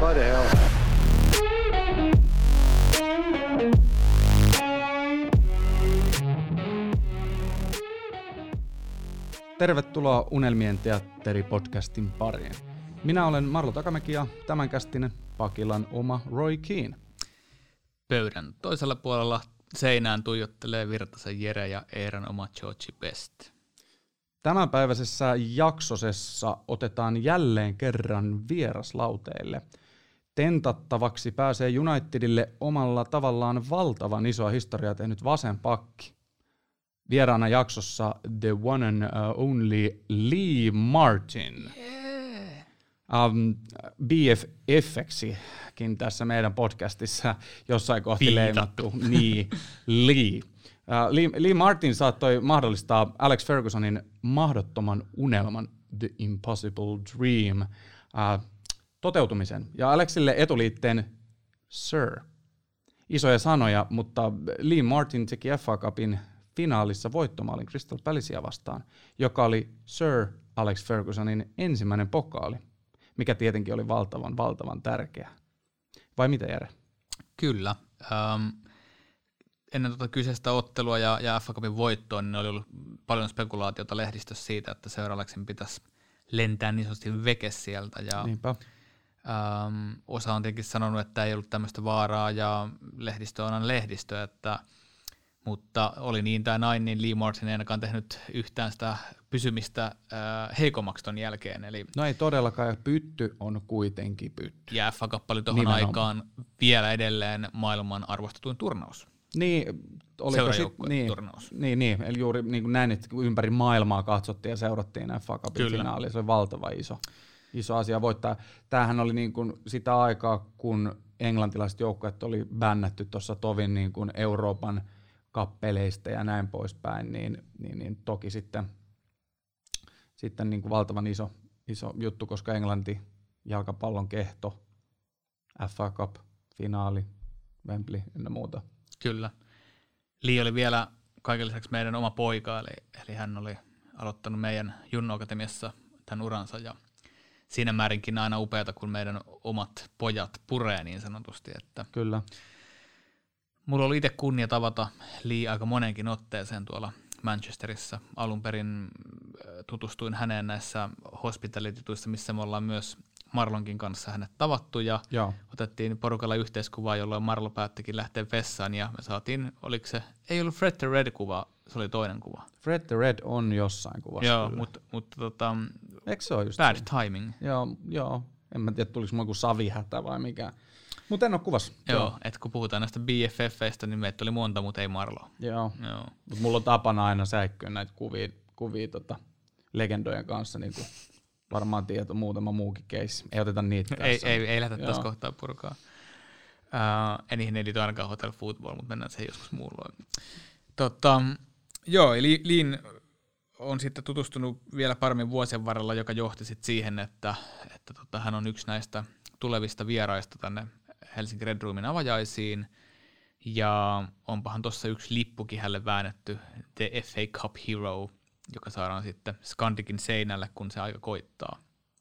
What the hell? Tervetuloa Unelmien teatteri-podcastin pariin. Minä olen Marlo Takamäki ja tämänkästinen Pakilan oma Roy Keane. Pöydän toisella puolella seinään tuijottelee Virtasen Jere ja Eeran oma Georgie Best. Tämänpäiväisessä jaksosessa otetaan jälleen kerran vieraslauteille. Tentattavaksi pääsee Unitedille omalla tavallaan valtavan isoa historiaa tehnyt vasen pakki. Vieraana jaksossa the one and only Lee Martin. BFF-ksikin tässä meidän podcastissa jossain kohti leimattu. Niin, Lee. Lee Martin saattoi mahdollistaa Alex Fergusonin mahdottoman unelman The Impossible Dream toteutumisen. Ja Alexille etuliitteen Sir. Isoja sanoja, mutta Lee Martin teki FA Cupin finaalissa voittomaalin Crystal Palacea vastaan, joka oli Sir Alex Fergusonin ensimmäinen pokaali, mikä tietenkin oli valtavan tärkeä. Vai mitä, Jere? Kyllä. Ennen tuota kyseistä ottelua ja FA Cupin voittoa, niin oli ollut paljon spekulaatiota lehdistössä siitä, että Sir Alexin pitäisi lentää niin sanotusti veke sieltä. Ja, osa on tietenkin sanonut, että ei ollut tämmöistä vaaraa, ja lehdistö on aina lehdistö, mutta oli niin tai näin, niin Lee Martin ei ainakaan tehnyt yhtään sitä pysymistä heikommaksi ton jälkeen. Eli no ei todellakaan, ja pytty on kuitenkin pytty. Ja FA Cup oli tuohon aikaan vielä edelleen maailman arvostetuin turnaus. Niin, oliko turnaus. Niin, eli juuri niin kuin näin, että ympäri maailmaa katsottiin ja seurattiin FA Cupin finaalia. Se oli valtava iso asia voittaa. Tämähän oli niin kuin sitä aikaa, kun englantilaiset joukkueet oli bännätty tuossa tovin niin kuin Euroopan kappeleista ja näin poispäin, niin toki sitten niin kuin valtavan iso juttu, koska Englanti, jalkapallon kehto, FA Cup, finaali, Wembley ynnä muuta. Kyllä. Lee oli vielä kaiken lisäksi meidän oma poika, eli hän oli aloittanut meidän Junno Akatemiassa tämän uransa, ja siinä määrinkin aina upeata, kun meidän omat pojat puree niin sanotusti. Että kyllä. Mulla oli itse kunnia tavata Lee aika monenkin otteeseen tuolla Manchesterissa. Alun perin tutustuin häneen näissä hospitality-tuissa, missä me ollaan myös Marlonkin kanssa hänet tavattu, ja otettiin porukalla yhteiskuvaa, jolloin Marlo päättikin lähteä vessaan, ja me saatiin, oliko se, ei ollut Fred the Red-kuva, se oli toinen kuva. Fred the Red on jossain kuvassa. Joo, mutta eikö se ole just bad se? Timing. Joo, en mä tiedä, tuliko mulla joku savihätä vai mikä. Mutta en ole kuvassa. Joo, että kun puhutaan näistä BFF-feistä, niin meitä oli monta, mutta ei Marlo. Joo. Mutta mulla on tapana aina säikkyä näitä kuvia legendojen kanssa, niin kuin varmaan tieto muutama muukin keissi. Ei oteta niitä tässä. Ei lähdetä tässä kohtaa purkaa. En niihin ei liity ainakaan Hotel Football, mutta mennään siihen joskus muulloin. Eli Leen on sitten tutustunut vielä paremmin vuosien varrella, joka johti sitten siihen, että hän on yksi näistä tulevista vieraista tänne Helsinki Red Roomin avajaisiin, ja onpahan tuossa yksi lippukin hänelle väännetty, The FA Cup Hero, joka saadaan sitten Scandikin seinälle, kun se aika koittaa.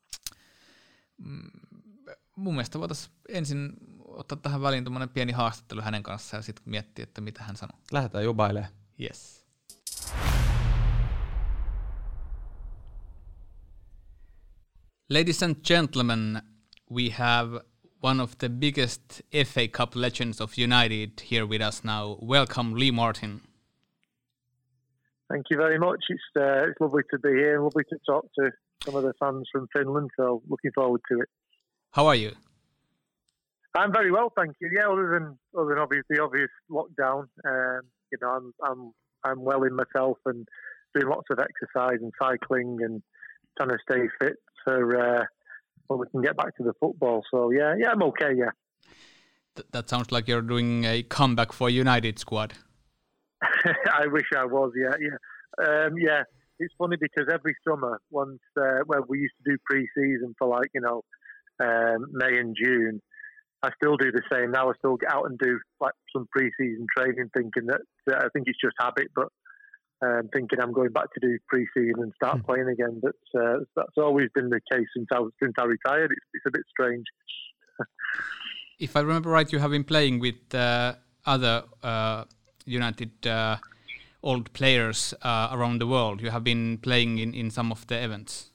Mun mielestä voitaisiin ensin ottaa tähän väliin tuommoinen pieni haastattelu hänen kanssaan ja sitten miettiä, että mitä hän sanoo. Lähdetään jubailemaan. Yes. Ladies and gentlemen, we have one of the biggest FA Cup legends of United here with us now. Welcome, Lee Martin. Thank you very much. It's lovely to be here and lovely to talk to some of the fans from Finland, so looking forward to it. How are you? I'm very well, thank you. Yeah, other than the obvious lockdown, I'm well in myself and doing lots of exercise and cycling and trying to stay fit for when we can get back to the football. So yeah, I'm okay. Yeah. That sounds like you're doing a comeback for United squad. I wish I was. Yeah. It's funny because every summer, once where we used to do pre-season for May and June, I still do the same now. I still get out and do like some pre-season training, thinking that I think it's just habit, but thinking I'm going back to do pre-season and start playing again. But that's always been the case since I retired. It's a bit strange. If I remember right, you have been playing with other United old players around the world. You have been playing in some of the events.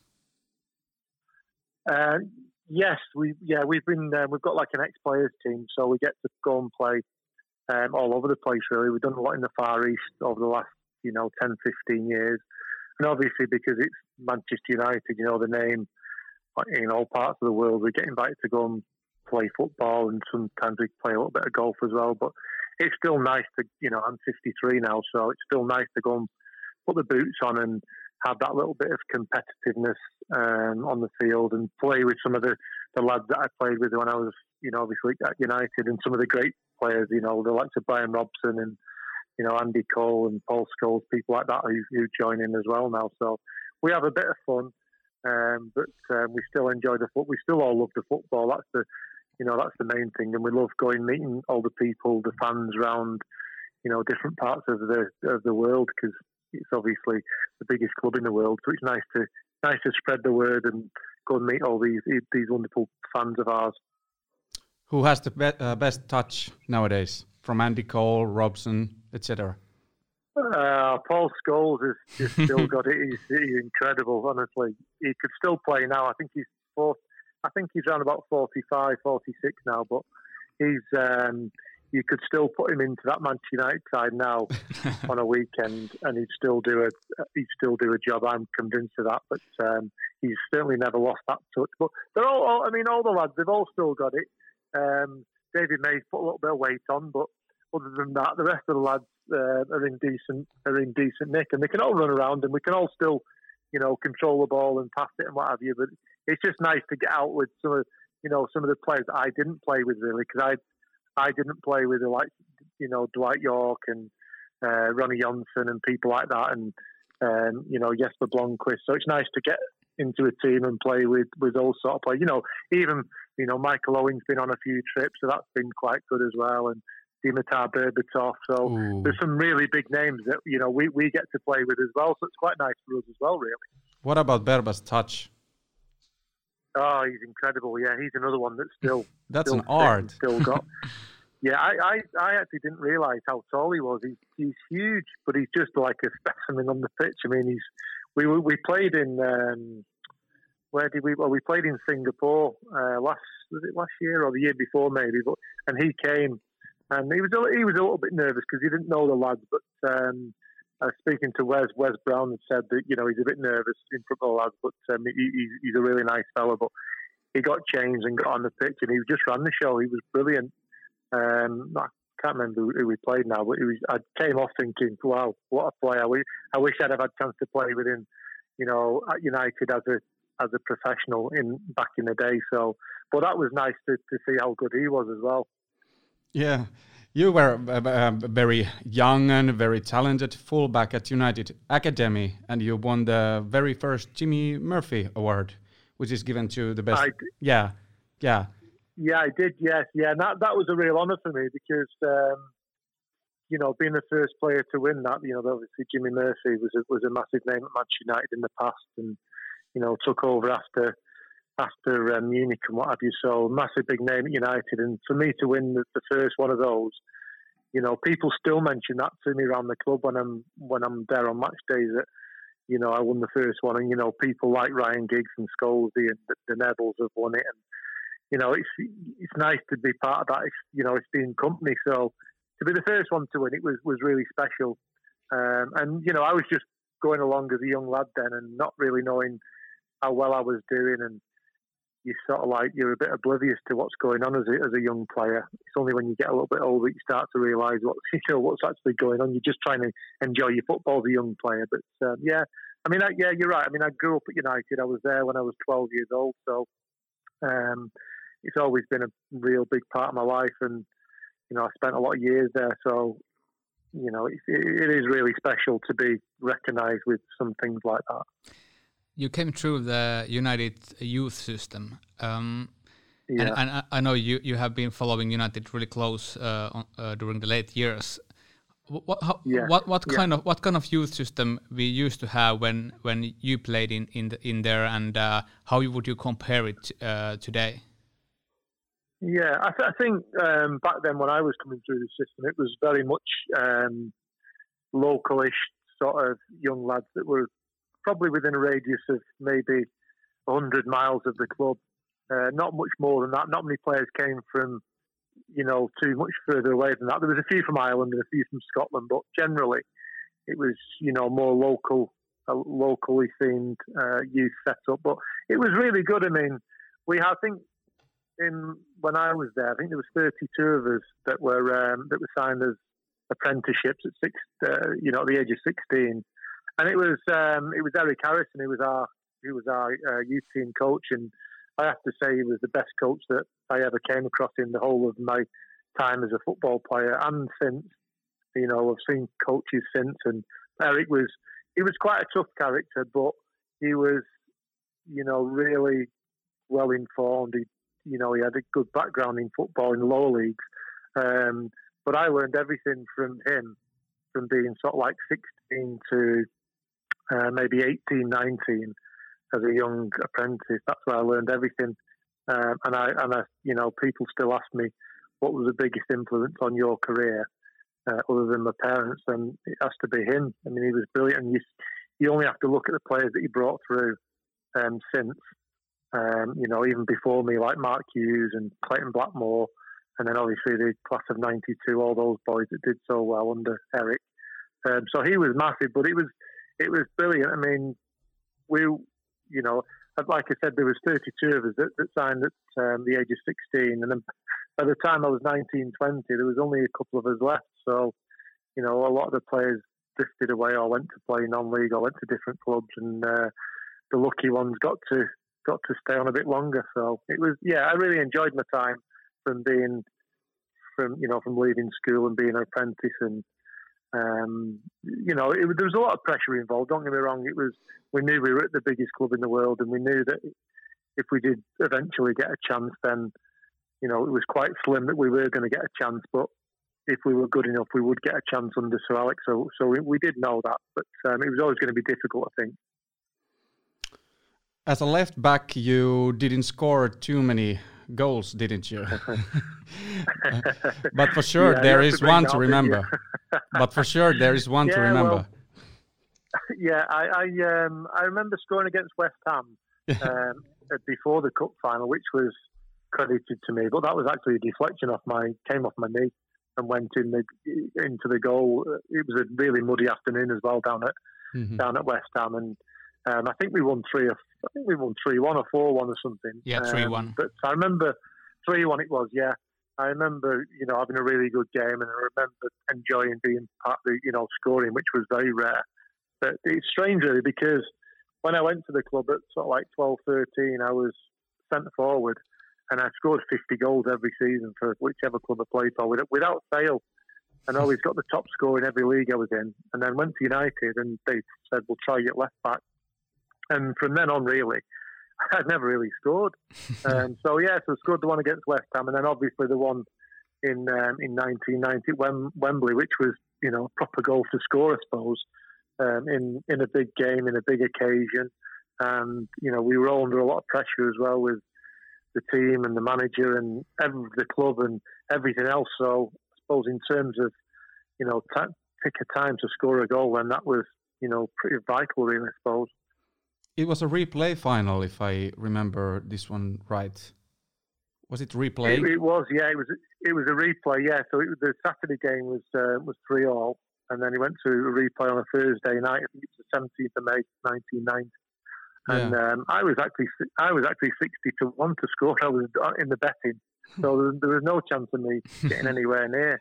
Yes, we've got like an ex-players team, so we get to go and play all over the place. Really, we've done a lot in the Far East over the last 10, 15 years, and obviously because it's Manchester United, the name in all parts of the world, we get invited to go and play football, and sometimes we play a little bit of golf as well. But it's still nice to, I'm 53 now, so it's still nice to go and put the boots on and have that little bit of competitiveness on the field and play with some of the lads that I played with when I was, obviously at United, and some of the great players, the likes of Brian Robson and, Andy Cole and Paul Scholes, people like that who join in as well now. So we have a bit of fun, but we still enjoy the football. We still all love the football. That's the main thing, and we love going meeting all the people, the fans around, different parts of the world, because it's obviously the biggest club in the world. So it's nice to spread the word and go and meet all these wonderful fans of ours. Who has the best touch nowadays? From Andy Cole, Robson, etc. Paul Scholes has just still got it. He's incredible, honestly. He could still play now. I think he's around about 45, 46 now, but he's you could still put him into that Manchester United side now on a weekend, and he'd still do a job. I'm convinced of that. But he's certainly never lost that touch. But they're all the lads, they've all still got it. David May's put a little bit of weight on, but other than that, the rest of the lads are in decent nick, and they can all run around, and we can all still, control the ball and pass it and what have you. But it's just nice to get out with some of the players that I didn't play with, really, because I didn't play with the likes, Dwight York and Ronnie Johnson and people like that, and Jesper Blomqvist. So it's nice to get into a team and play with those sort of players. Even Michael Owen's been on a few trips, so that's been quite good as well, and Dimitar Berbatov. So there's some really big names that we get to play with as well. So it's quite nice for us as well, really. What about Berba's touch? Oh, he's incredible. Yeah, he's another one that's still an art. Still got. Yeah, I actually didn't realise how tall he was. He's huge, but he's just like a specimen on the pitch. I mean, we played in where did we? Well, we played in Singapore last year or the year before maybe. And he came, and he was a little bit nervous because he didn't know the lads. But I was speaking to Wes Brown, and said that he's a bit nervous in front of the lads, but he's a really nice fella. But he got changed and got on the pitch, and he just ran the show. He was brilliant. I can't remember who we played now, but I came off thinking, wow, what a player. I wish I'd have had a chance to play with him, at United as a professional back in the day. So, but that was nice to see how good he was as well. Yeah, you were very young and very talented fullback at United Academy, and you won the very first Jimmy Murphy Award, which is given to the best. Yeah. Yeah, I did. Yes, yeah. And that was a real honour for me because, being the first player to win that, obviously Jimmy Murphy was a massive name at Manchester United in the past, and took over after Munich and what have you. So massive big name at United, and for me to win the first one of those, people still mention that to me around the club when I'm there on match days. That I won the first one, and people like Ryan Giggs and Scholesy and the Nevils have won it, and it's nice to be part of that. It's been company. So to be the first one to win it was really special. And I was just going along as a young lad then, and not really knowing how well I was doing. And you're a bit oblivious to what's going on as a young player. It's only when you get a little bit older you start to realise what's actually going on. You're just trying to enjoy your football as a young player. But you're right. I mean, I grew up at United. I was there when I was 12 years old. So it's always been a real big part of my life, and I spent a lot of years there. So it is really special to be recognised with some things like that. You came through the United youth system, and I know you have been following United really close during the late years. What kind of youth system we used to have when you played in there, and how would you compare it today? Yeah, I think back then when I was coming through the system, it was very much localish sort of young lads that were probably within a radius of maybe 100 miles of the club. Not much more than that. Not many players came from, too much further away than that. There was a few from Ireland and a few from Scotland, but generally it was, more locally themed youth setup. But it was really good. I mean, when I was there, I think there was 32 of us that were signed as apprenticeships at the age of 16, and it was Eric Harrison who was our youth team coach, and I have to say he was the best coach that I ever came across in the whole of my time as a football player, and since I've seen coaches since, and Eric was quite a tough character, but he was really well informed. He had a good background in football in the lower leagues. But I learned everything from him, from being sort of like 16 to maybe 18, 19 as a young apprentice. That's where I learned everything. And I, people still ask me, what was the biggest influence on your career, other than my parents? And it has to be him. I mean, he was brilliant. And you only have to look at the players that he brought through since. Even before me, like Mark Hughes and Clayton Blackmore, and then obviously the class of '92, all those boys that did so well under Eric. So he was massive, but it was brilliant. I mean, like I said, there was 32 of us that signed at the age of 16, and then by the time I was 19, 20, there was only a couple of us left. So, a lot of the players drifted away or went to play non-league or went to different clubs, and the lucky ones got to stay on a bit longer. So it was, I really enjoyed my time from leaving school and being an apprentice, and there was a lot of pressure involved. Don't get me wrong. We knew we were at the biggest club in the world, and we knew that if we did eventually get a chance, then it was quite slim that we were going to get a chance. But if we were good enough, we would get a chance under Sir Alex. So we did know that, but it was always going to be difficult, I think. As a left back, you didn't score too many goals, didn't you? But for sure, there is one to remember. But for sure, there is one to remember. I remember scoring against West Ham before the cup final, which was credited to me. But that was actually a deflection came off my knee and went into the goal. It was a really muddy afternoon as well down at West Ham, and I think we won 3-1 or 4-1 or something. Yeah, 3-1. But I remember 3-1 it was, yeah. I remember, having a really good game, and I remember enjoying being part of the, scoring, which was very rare. But it's strange really, because when I went to the club at sort of like 12, 13, I was centre forward, and I scored 50 goals every season for whichever club I played for without fail. And always got the top score in every league I was in. And then went to United, and they said, we'll try you at left back. And from then on, really, I'd never really scored. So I scored the one against West Ham, and then obviously the one in 1990 at Wembley, which was, a proper goal to score, I suppose, in a big game, in a big occasion. And, we were all under a lot of pressure as well with the team and the manager and the club and everything else. So I suppose in terms of, pick a time to score a goal, then that was, pretty vital, really, I suppose. It was a replay final, if I remember this one right. Was it replay? It was, yeah. It was a replay, yeah. So the Saturday game was 3-3, and then he went to a replay on a Thursday night. I think it was the 17th of May, 1990. Yeah. And I was actually 60-1 to score. I was in the betting, so there was no chance of me getting anywhere near.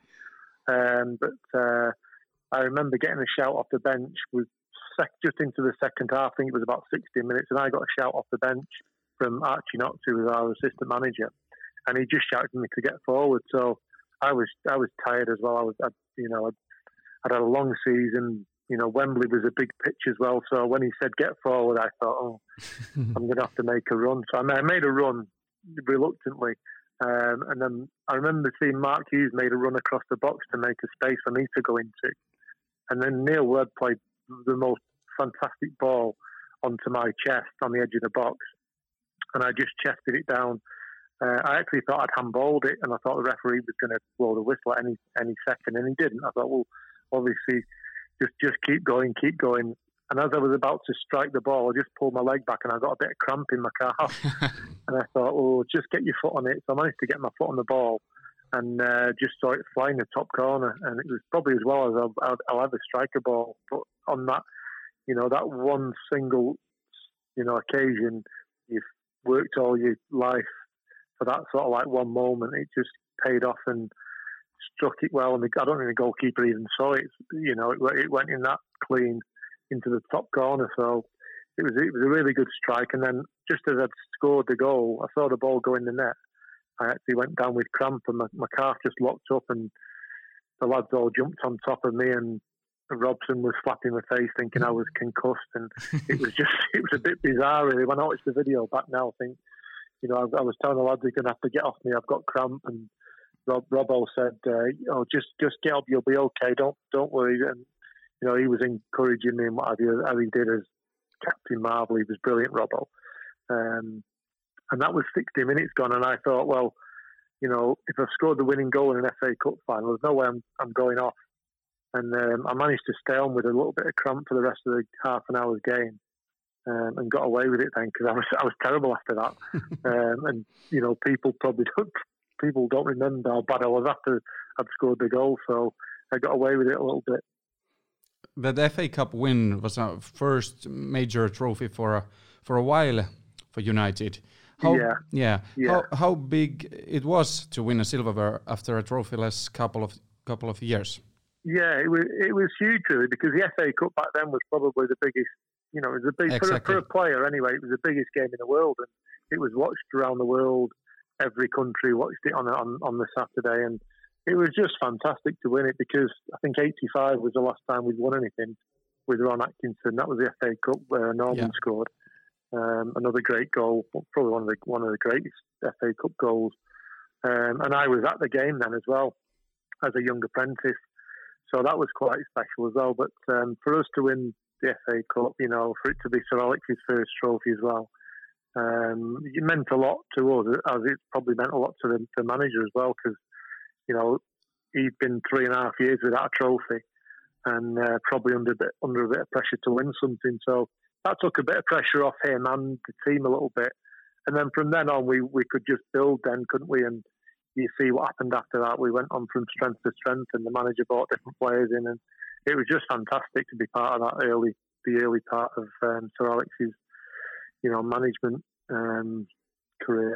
But I remember getting a shout off the bench with. Just into the second half, I think it was about 60 minutes, and I got a shout off the bench from Archie Knox, who was our assistant manager, and he just shouted at me to get forward. So I was tired as well. I'd had a long season. Wembley was a big pitch as well. So when he said get forward, I thought, I'm going to have to make a run. So I made a run reluctantly, and then I remember seeing Mark Hughes made a run across the box to make a space for me to go into, and then Neil Webb played the most fantastic ball onto my chest on the edge of the box, and I just chested it down I actually thought I'd handballed it, and I thought the referee was going to blow the whistle at any second, and he didn't. I thought, well, obviously, just keep going. And as I was about to strike the ball, I just pulled my leg back, and I got a bit of cramp in my calf. And I thought, oh, just get your foot on it. So I managed to get my foot on the ball, and just saw it fly in the top corner. And it was probably as well as I'll ever strike a ball. But on that, that one single, occasion, you've worked all your life for that sort of like one moment. It just paid off and struck it well. And I don't think the goalkeeper even saw it. It went in that clean into the top corner. So it was a really good strike. And then just as I'd scored the goal, I saw the ball go in the net. I actually went down with cramp, and my calf just locked up, and the lads all jumped on top of me, and Robson was slapping my face thinking I was concussed, and it was a bit bizarre really. When I watched the video back now, I think, I was telling the lads they're going to have to get off me, I've got cramp, and Robbo said, just get up, you'll be okay, don't worry. And he was encouraging me and what have you, as he did as Captain Marvel. He was brilliant, Robbo. And that was 60 minutes gone, and I thought, well, if I've scored the winning goal in an FA Cup final, there's no way I'm going off. And I managed to stay on with a little bit of cramp for the rest of the half an hour's game, and got away with it then, because I was terrible after that. And people don't remember how bad I was after I'd scored the goal, so I got away with it a little bit. The FA Cup win was our first major trophy for a while for United. How big it was to win a silverware after a trophyless couple of years? Yeah, it was huge really, because the FA Cup back then was probably the biggest. It was the big for a player anyway. It was the biggest game in the world, and it was watched around the world. Every country watched it on the Saturday, and it was just fantastic to win it, because I think '85 was the last time we'd won anything with Ron Atkinson. That was the FA Cup where Norman scored another great goal, probably one of the greatest FA Cup goals. And I was at the game then as well as a young apprentice, so that was quite special as well. But for us to win the FA Cup, for it to be Sir Alex's first trophy as well, it meant a lot to us, as it probably meant a lot to the manager as well, because he'd been 3.5 years without a trophy, and probably under a bit of pressure to win something. So that took a bit of pressure off him and the team a little bit. And then from then on, we could just build then, couldn't we? And you see what happened after that. We went on from strength to strength, and the manager brought different players in, and it was just fantastic to be part of that the early part of Sir Alex's, management career.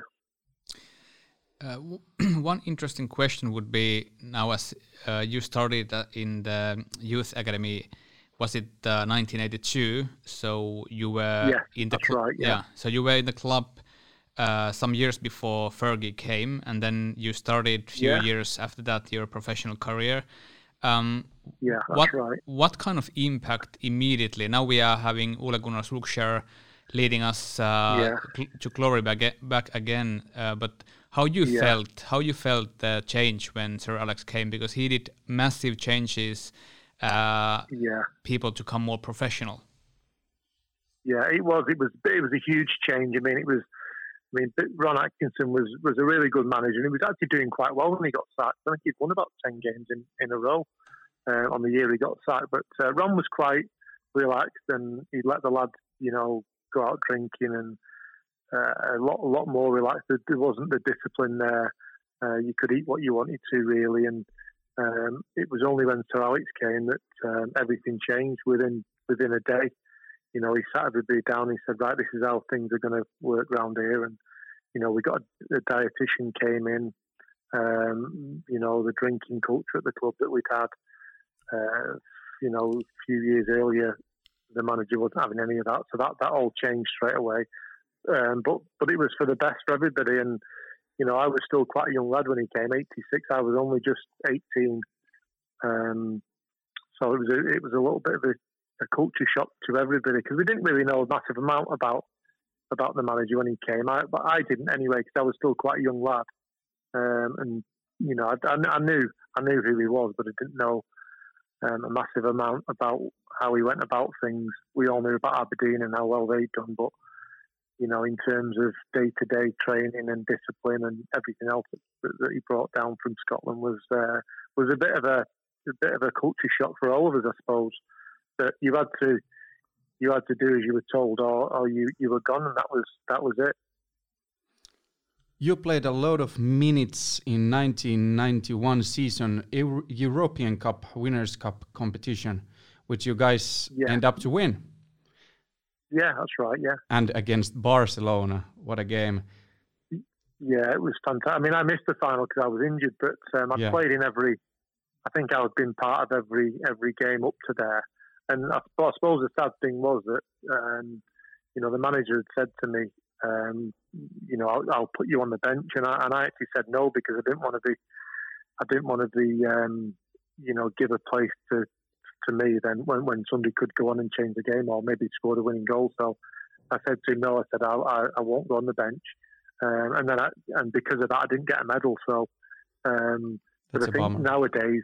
One interesting question would be, now as you started in the youth academy, was it 1982? So you were in the club. Right, yeah. So you were in the club some years before Fergie came, and then you started a few years after that your professional career. That's right. What kind of impact immediately? Now we are having Ole Gunnar Solskjaer leading us to glory back again. But how you felt the change when Sir Alex came, because he did massive changes. People to become more professional. Yeah, it was a huge change. Ron Atkinson was a really good manager, and he was actually doing quite well when he got sacked. I think he'd won about 10 games in a row on the year he got sacked. But Ron was quite relaxed, and he'd let the lads, go out drinking, and a lot more relaxed. There wasn't the discipline there. You could eat what you wanted to, really, and it was only when Sir Alex came that everything changed within a day. He sat everybody down. He said, right, this is how things are going to work around here. And, we got a dietitian came in, the drinking culture at the club that we'd had, a few years earlier, the manager wasn't having any of that. So that all changed straight away. But it was for the best for everybody. And, I was still quite a young lad when he came, 86. I was only just 18. So it was a little bit of a culture shock to everybody, because we didn't really know a massive amount about the manager when he came. But I didn't anyway, because I was still quite a young lad. And I knew who he was, but I didn't know a massive amount about how he went about things. We all knew about Aberdeen and how well they'd done, but in terms of day-to-day training and discipline and everything else that he brought down from Scotland was a bit of a culture shock for all of us, I suppose. That you had to do as you were told, or you were gone, and that was it. You played a lot of minutes in 1991 season European Cup Winners' Cup competition, which you guys end up to win. Yeah, that's right. Yeah, and against Barcelona, what a game! Yeah, it was fantastic. I mean, I missed the final because I was injured, but I played in every. I think I've been part of every game up to there. And I suppose the sad thing was that the manager had said to me, I'll put you on the bench, and I actually said no because I didn't want to be give a place to me then when somebody could go on and change the game or maybe score the winning goal. So I said to him no. I said I won't go on the bench, and because of that I didn't get a medal. So but I think nowadays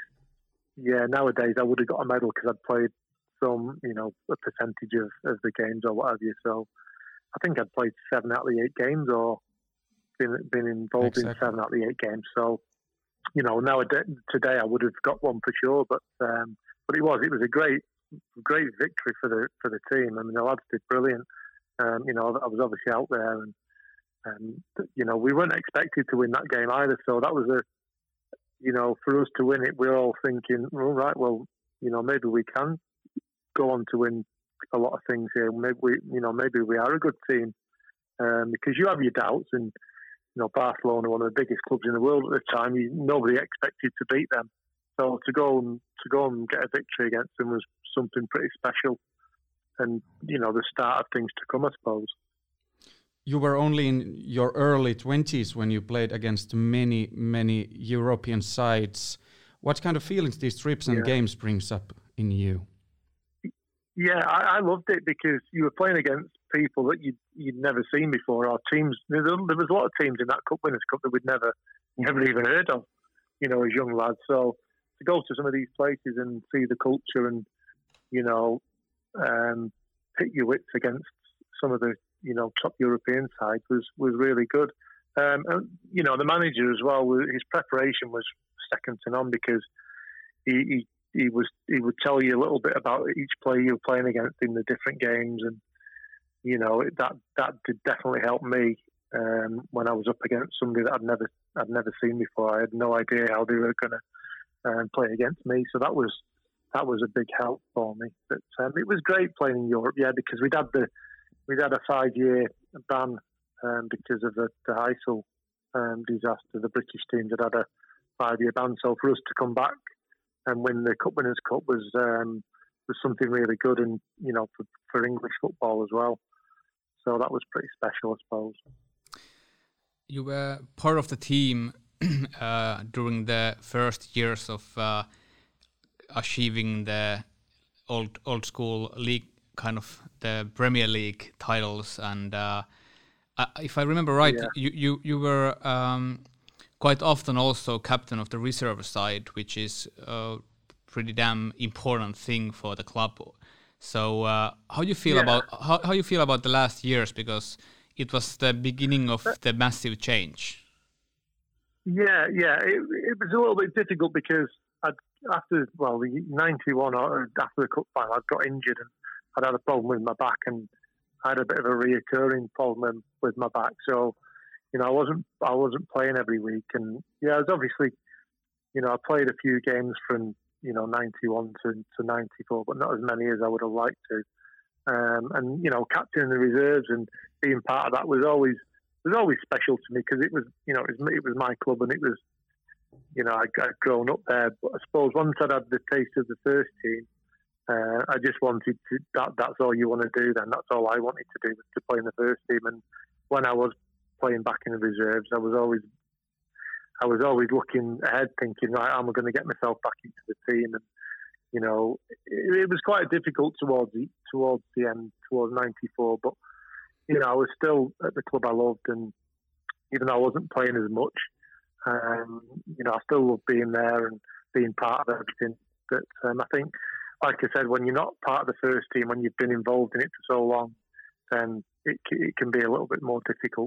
I would have got a medal because I'd played some a percentage of the games or what have you. So I think I'd played 7 out of the 8 games or been involved in 7 out of the 8 games. So nowadays today I would have got one for sure. But it was a great victory for the team. I mean, the lads did brilliant. I was obviously out there, and we weren't expected to win that game either. So that was for us to win it, we're all thinking, all right, well, maybe we can go on to win a lot of things here. Maybe we are a good team, because you have your doubts, and Barcelona, one of the biggest clubs in the world at the time, nobody expected to beat them. So to go and get a victory against them was something pretty special, and the start of things to come, I suppose. You were only in your early 20s when you played against many, many European sides. What kind of feelings these trips and games brings up in you? Yeah, I loved it because you were playing against people that you'd never seen before. Our teams, there was a lot of teams in that Cup Winners' Cup that we'd never even heard of, as young lads. So to go to some of these places and see the culture and, pit your wits against some of the, top European sides was really good. And, the manager as well, his preparation was second to none because he would tell you a little bit about each player you were playing against in the different games, and that did definitely help me when I was up against somebody that I'd never seen before. I had no idea how they were going to play against me, so that was a big help for me. But it was great playing in Europe, because we'd had a 5-year ban because of the Heysel disaster. The British teams had a 5-year ban, so for us to come back and win the Cup Winners' Cup was something really good, and for English football as well. So that was pretty special, I suppose. You were part of the team during the first years of achieving the old school league, kind of the Premier League titles, and if I remember right, you were quite often also captain of the reserve side, which is a pretty damn important thing for the club. So how you feel about how you feel about the last years, because it was the beginning of the massive change? Yeah, it was a little bit difficult because after the 91 or after the cup final, I'd got injured and I'd had a problem with my back, and I had a bit of a reoccurring problem with my back. So, I wasn't playing every week, and I was obviously, I played a few games from 91 to 94, but not as many as I would have liked to. And captaining the reserves and being part of that was always special to me because it was my club, and it was I'd grown up there. But I suppose once I'd had the taste of the first team, I just wanted to. That's all you want to do. Then that's all I wanted to do was to play in the first team. And when I was playing back in the reserves, I was always looking ahead, thinking, right, I'm going to get myself back into the team. And it was quite difficult towards the end, towards 94. But I was still at the club I loved, and even though I wasn't playing as much, I still loved being there and being part of everything. But I think, like I said, when you're not part of the first team, when you've been involved in it for so long, then it can be a little bit more difficult.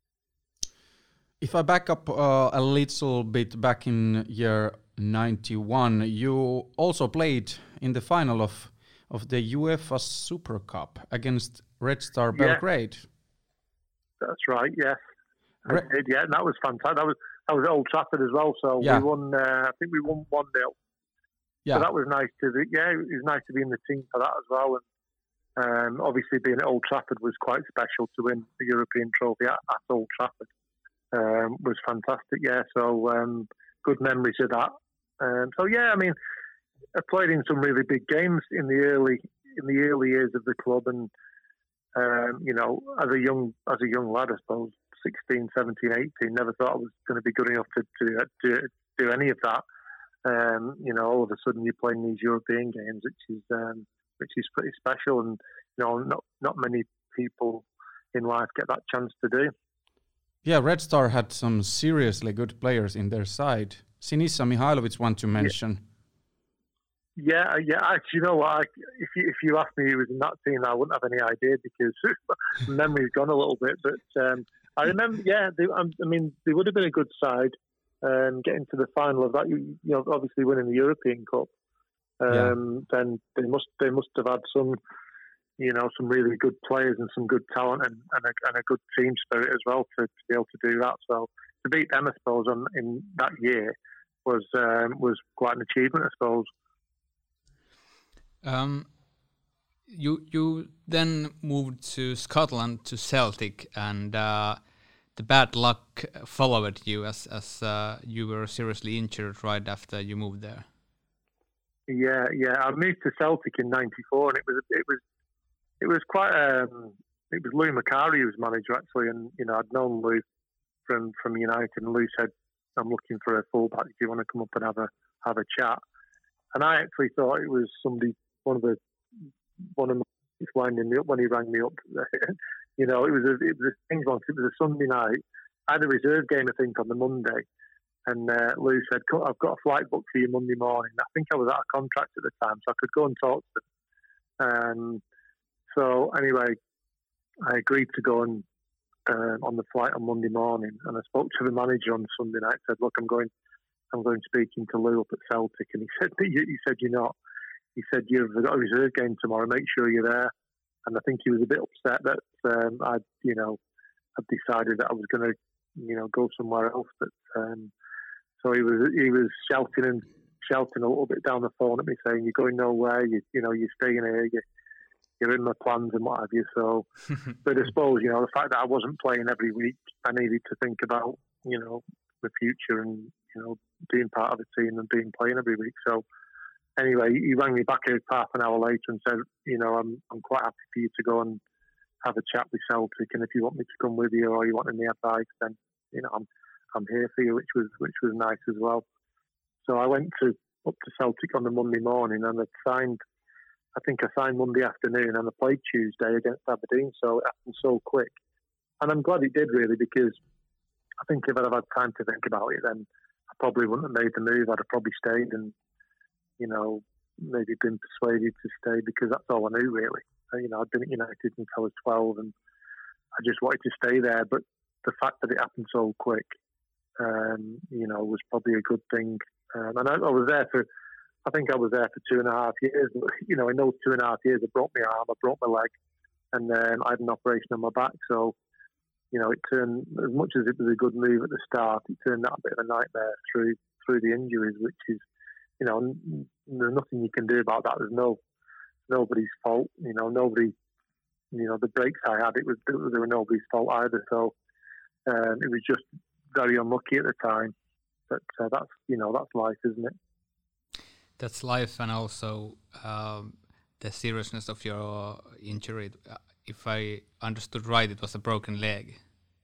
If I back up a little bit back in year 91, you also played in the final of the UEFA Super Cup against Red Star Belgrade. That's right, yes. I did, yeah, and that was fantastic. That was at Old Trafford as well, so we won, I think we won 1-0. Yeah. So that was nice it was nice to be in the team for that as well. And obviously being at Old Trafford was quite special to win the European trophy at Old Trafford. Was fantastic, yeah. So good memories of that. So yeah, I mean, I played in some really big games in the early years of the club, and you know, as a young lad, I suppose, 16, 17, 18, never thought I was going to be good enough to do any of that. You know, all of a sudden you're playing these European games, which is pretty special, and you know, not many people in life get that chance to do. Yeah, Red Star had some seriously good players in their side. Sinisa Mihailovic, one to mention. Yeah. Actually, you know what? If you asked me who was in that team, I wouldn't have any idea because memory's gone a little bit. But I remember, they would have been a good side. Getting to the final of that, you know, obviously winning the European Cup. Then they must have had some, you know, some really good players and some good talent and a good team spirit as well to be able to do that. So to beat them, I suppose, in that year was quite an achievement, I suppose. You then moved to Scotland to Celtic, and the bad luck followed you as you were seriously injured right after you moved there. Yeah. I moved to Celtic in '94, and it was quite. It was Lou Macari who was manager actually, and you know I'd known Lou from United, and Lou said, "I'm looking for a fullback. Do you want to come up and have a chat?" And I actually thought it was somebody, one of my winding me up when he rang me up. You know, it was a thing once. It was a Sunday night. I had a reserve game, I think, on the Monday, and Lou said, "I've got a flight booked for you Monday morning." I think I was out of contract at the time, so I could go and talk to them. So anyway, I agreed to go on the flight on Monday morning, and I spoke to the manager on Sunday night. Said, "Look, I'm going speaking to Lou up at Celtic," and he said, "You're not." He said, "You've got a reserve game tomorrow. Make sure you're there." And I think he was a bit upset that I'd decided that I was going to, you know, go somewhere else. But so he was shouting a little bit down the phone at me, saying, "You're going nowhere. You're staying here. You're in my plans and what have you." So, but I suppose, you know, the fact that I wasn't playing every week, I needed to think about, you know, the future and, you know, being part of the team and playing every week. So anyway, he rang me back half an hour later and said, "You know, I'm quite happy for you to go and have a chat with Celtic, and if you want me to come with you or you want any advice, then, you know, I'm here for you," which was nice as well. So I went up to Celtic on the Monday morning, and I think I signed Monday afternoon, and I played Tuesday against Aberdeen. So it happened so quick, and I'm glad it did, really, because I think if I'd have had time to think about it, then I probably wouldn't have made the move. I'd have probably stayed and, you know, maybe been persuaded to stay because that's all I knew, really. You know, I'd been at United since I was 12, and I just wanted to stay there. But the fact that it happened so quick, you know, was probably a good thing. And I was there I think I was there for 2.5 years. You know, in those 2.5 years, I broke my arm, I broke my leg, and I had an operation on my back. So, you know, it turned, as much as it was a good move at the start, it turned out a bit of a nightmare through the injuries, which is, you know, there's nothing you can do about that. There's nobody's fault. You know, nobody, you know, the breaks I had, they were nobody's fault either. So it was just very unlucky at the time. But that's, you know, that's life, isn't it? That's life, and also the seriousness of your injury. If I understood right, it was a broken leg.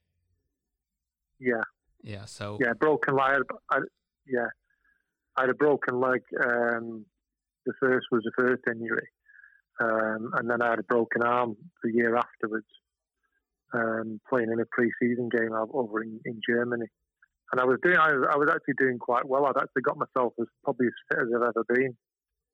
Yeah. Yeah. So. Yeah, broken leg. I had a broken leg. The first was the first injury, and then I had a broken arm the year afterwards, playing in a pre-season game over in Germany. And I was actually doing quite well. I'd actually got myself probably as fit as I've ever been.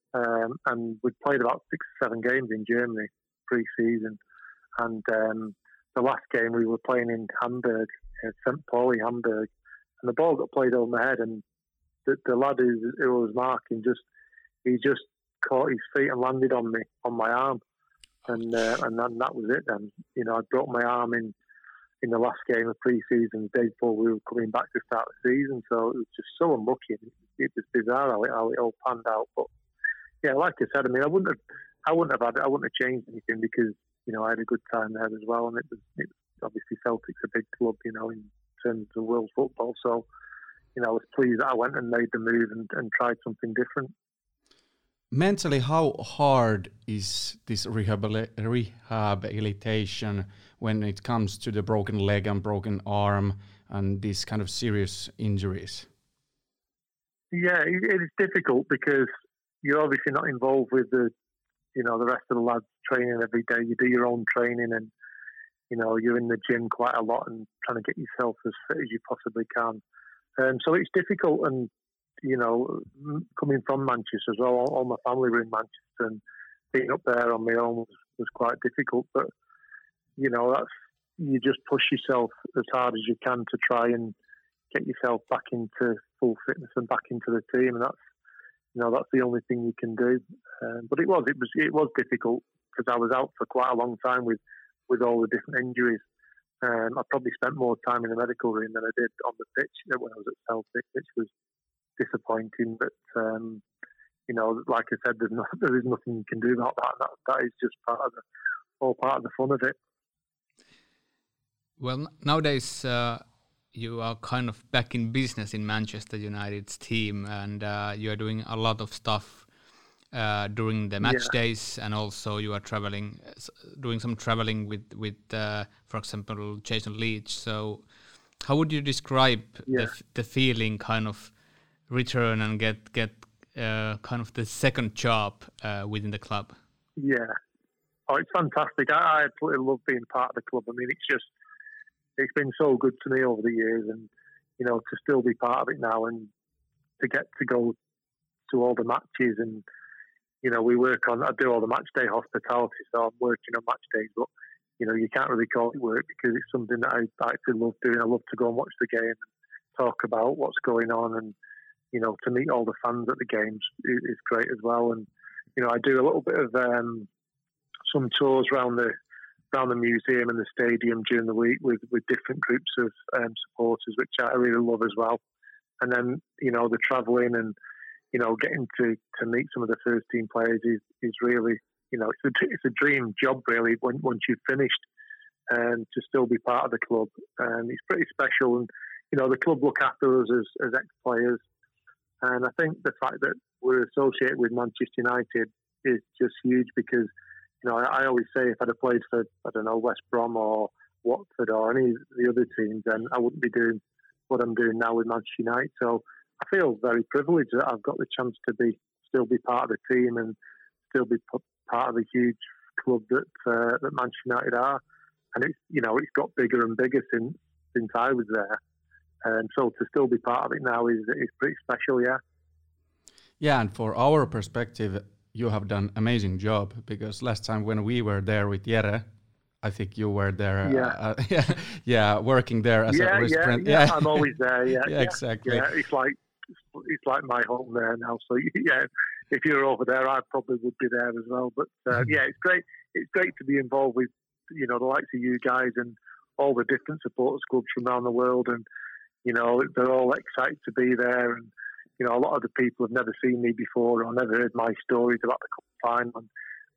And we'd played about 6 or 7 games in Germany pre-season. And the last game we were playing in Hamburg, St. Pauli, Hamburg, and the ball got played over my head, and the lad who was marking he just caught his feet and landed on my arm, and then that was it. Then I broke my arm in the last game of pre-season, the day before we were coming back to start the season. So it was just so unlucky. It was bizarre how it all panned out. But yeah, like I said, I mean, I wouldn't have changed anything because I had a good time there as well, and it was obviously Celtic's a big club, in terms of world football. So I was pleased that I went and made the move and tried something different. Mentally, how hard is this rehabilitation when it comes to the broken leg and broken arm and these kind of serious injuries? Yeah, it is difficult because you're obviously not involved with the rest of the lads training every day. You do your own training and, you're in the gym quite a lot and trying to get yourself as fit as you possibly can. So it's difficult, and coming from Manchester as well, all my family were in Manchester, and being up there on my own was quite difficult. But you just push yourself as hard as you can to try and get yourself back into full fitness and back into the team, and that's the only thing you can do. But it was difficult because I was out for quite a long time with all the different injuries. I probably spent more time in the medical room than I did on the pitch when I was at Celtic, which was disappointing. But like I said, there is nothing you can do about that. That is just part of the fun of it. Well, nowadays you are kind of back in business in Manchester United's team, and you are doing a lot of stuff during the match days, and also you are doing some traveling with for example, Jason Leach. So how would you describe the feeling, kind of return and get kind of the second job within the club? Yeah. Oh, it's fantastic. I absolutely love being part of the club. I mean, it's been so good to me over the years, and to still be part of it now, and to get to go to all the matches, and I do all the match day hospitality, so I'm working on match days, but you can't really call it work because it's something that I actually love doing. I love to go and watch the game and talk about what's going on, and to meet all the fans at the games is great as well. And I do a little bit of some tours around the museum and the stadium during the week with different groups of supporters, which I really love as well. And then the travelling and getting to meet some of the first team players is really it's a dream job really once you've finished, and to still be part of the club, and it's pretty special. And the club look after us as ex-players, and I think the fact that we're associated with Manchester United is just huge because I always say if I'd have played for West Brom or Watford or any of the other teams, then I wouldn't be doing what I'm doing now with Manchester United. So I feel very privileged that I've got the chance to still be part of the team and still be part of the huge club that Manchester United are. And it's got bigger and bigger since I was there. And so to still be part of it now is pretty special, yeah. Yeah, and for our perspective, you have done an amazing job, because last time when we were there with Jere, I think you were there, working there as a resident. Yeah, I'm always there. Yeah, exactly. Yeah, it's like my home there now. So yeah, if you're over there, I probably would be there as well. But it's great. It's great to be involved with the likes of you guys and all the different supporters clubs from around the world, and they're all excited to be there. And a lot of the people have never seen me before or never heard my stories about the cup final. And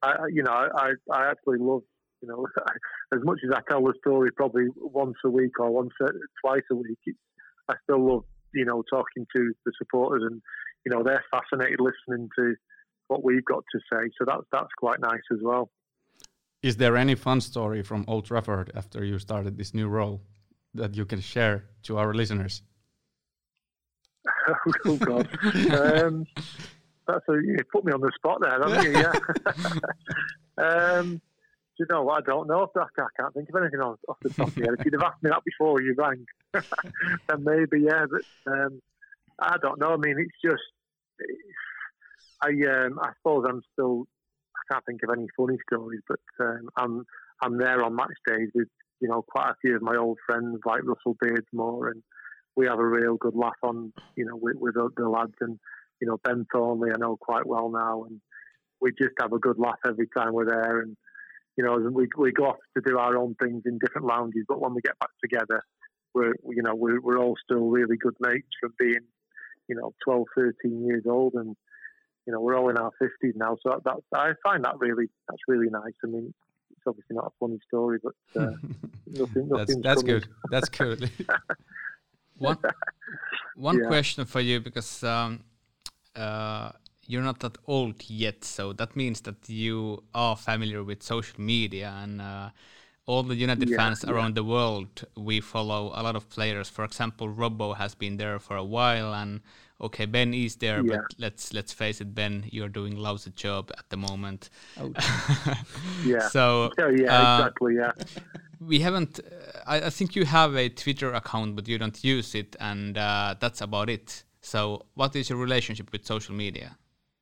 I actually love. As much as I tell the story probably once a week or twice a week, I still love, talking to the supporters, and, they're fascinated listening to what we've got to say. So that's quite nice as well. Is there any fun story from Old Trafford after you started this new role that you can share to our listeners? Oh, God. You put me on the spot there, haven't you? Yeah. Do you know what? I don't know. I can't think of anything off the top of the head. If you'd have asked me that before you rang, then maybe, yeah. But I don't know. I mean, it's just, I suppose I can't think of any funny stories, but I'm there on match days with quite a few of my old friends like Russell Beardsmore, and we have a real good laugh on, with the lads. And, Ben Thornley I know quite well now, and we just have a good laugh every time we're there. And, we go off to do our own things in different lounges, but when we get back together, we're all still really good mates from being, 12, 13 years old, and, we're all in our 50s now. So I find that's really nice. I mean, it's obviously not a funny story, but that's good. That's good. One question for you, because you're not that old yet, so that means that you are familiar with social media, and all the United fans around the world, we follow a lot of players. For example, Robbo has been there for a while, and okay, Ben is there, but let's face it, Ben, you're doing lousy job at the moment. Oh. So exactly. Yeah. We haven't. I think you have a Twitter account, but you don't use it, and that's about it. So, what is your relationship with social media?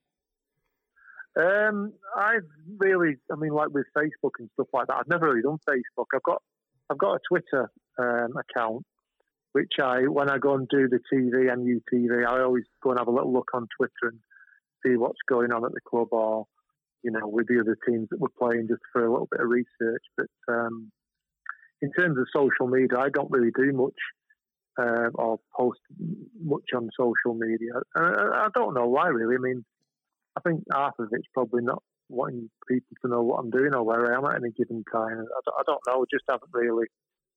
Like with Facebook and stuff like that, I've never really done Facebook. I've got a Twitter account, which when I go and do the TV and UTV, I always go and have a little look on Twitter and see what's going on at the club, or with the other teams that we're playing, just for a little bit of research. But in terms of social media, I don't really do much or post much on social media. I don't know why, really. I mean, I think half of it's probably not wanting people to know what I'm doing or where I am at any given time. I don't know. Just haven't really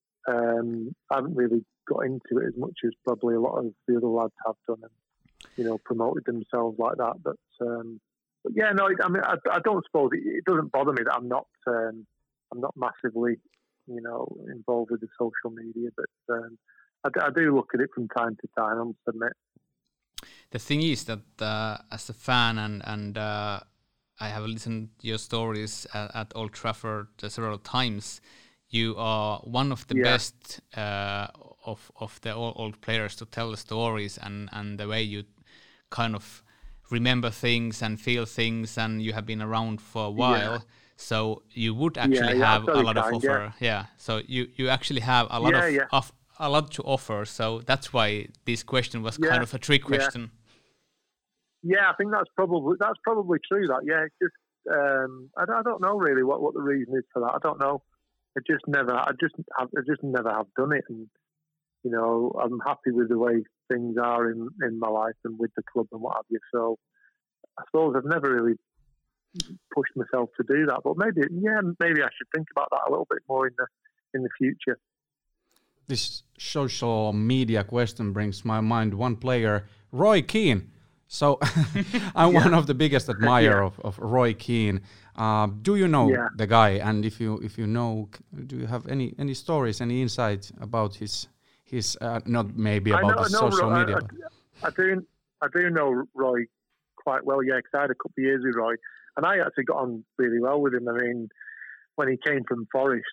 got into it as much as probably a lot of the other lads have done, and promoted themselves like that. But yeah, no. I mean, I don't suppose it doesn't bother me that I'm not massively involved with the social media, but I do look at it from time to time, I must admit. The thing is that as a fan, and I have listened to your stories at Old Trafford several times, you are one of the best of the old players to tell the stories, and the way you kind of remember things and feel things, and you have been around for a while. Yeah. So you would actually have a lot of offer. Yeah. So you actually have a lot of a lot to offer. So that's why this question was kind of a trick question. Yeah, I think that's probably true. That it's just I don't know really what the reason is for that. I don't know. I just never have done it, and I'm happy with the way things are in my life and with the club and what have you. So I suppose I've never really pushed myself to do that, but maybe I should think about that a little bit more in the future. This social media question brings to my mind one player, Roy Keane. So I'm one of the biggest admirer of Roy Keane. Do you know the guy? And if you know, do you have any stories, any insight about his not maybe about his social media? I do know Roy quite well. Yeah, because I had a couple of years with Roy, and I actually got on really well with him. I mean, when he came from Forest,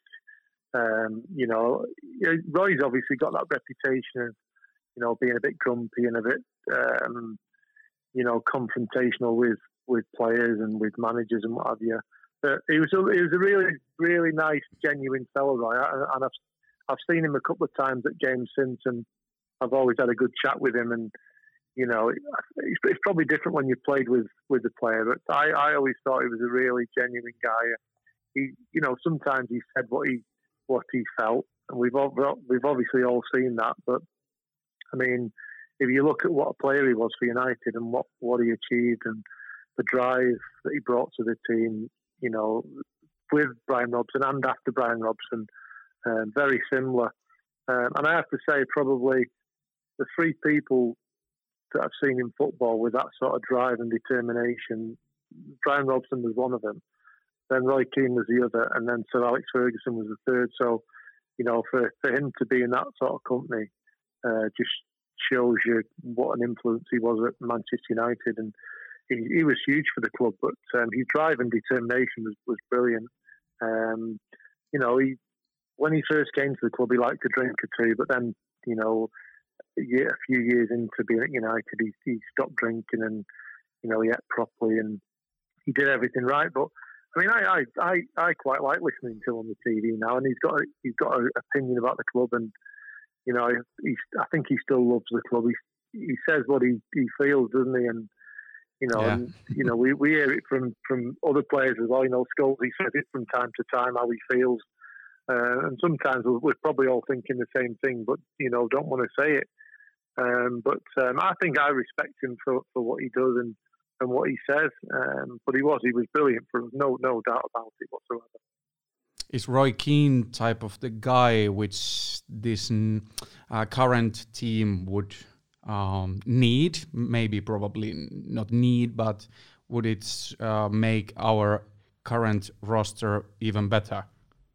Roy's obviously got that reputation of being a bit grumpy and a bit confrontational with players and with managers and what have you. But he was a really, really nice, genuine fellow, Roy. And I've seen him a couple of times at games since, and I've always had a good chat with him. And it's probably different when you played with the player, but I always thought he was a really genuine guy. He, sometimes he said what he felt, and we've obviously all seen that. But I mean, if you look at what a player he was for United and what he achieved and the drive that he brought to the team, with Brian Robson and after Brian Robson, very similar. And I have to say, probably the three people that I've seen in football with that sort of drive and determination, Brian Robson was one of them. Then Roy Keane was the other, and then Sir Alex Ferguson was the third. So, for him to be in that sort of company just shows you what an influence he was at Manchester United, and he was huge for the club. But his drive and determination was brilliant. When he first came to the club, he liked to drink or two, but then a few years into being at United, he stopped drinking and he ate properly and he did everything right. But I mean, I quite like listening to him on the TV now, and he's got an opinion about the club, and I think he still loves the club. He says what he feels, doesn't he? And we hear it from other players as well. Scholes, he says it from time to time how he feels, and sometimes we're probably all thinking the same thing, but don't want to say it. But I think I respect him for what he does and what he says. But he was brilliant for us, no doubt about it whatsoever. Is Roy Keane type of the guy which this current team would need? Maybe probably not need, but would it make our current roster even better?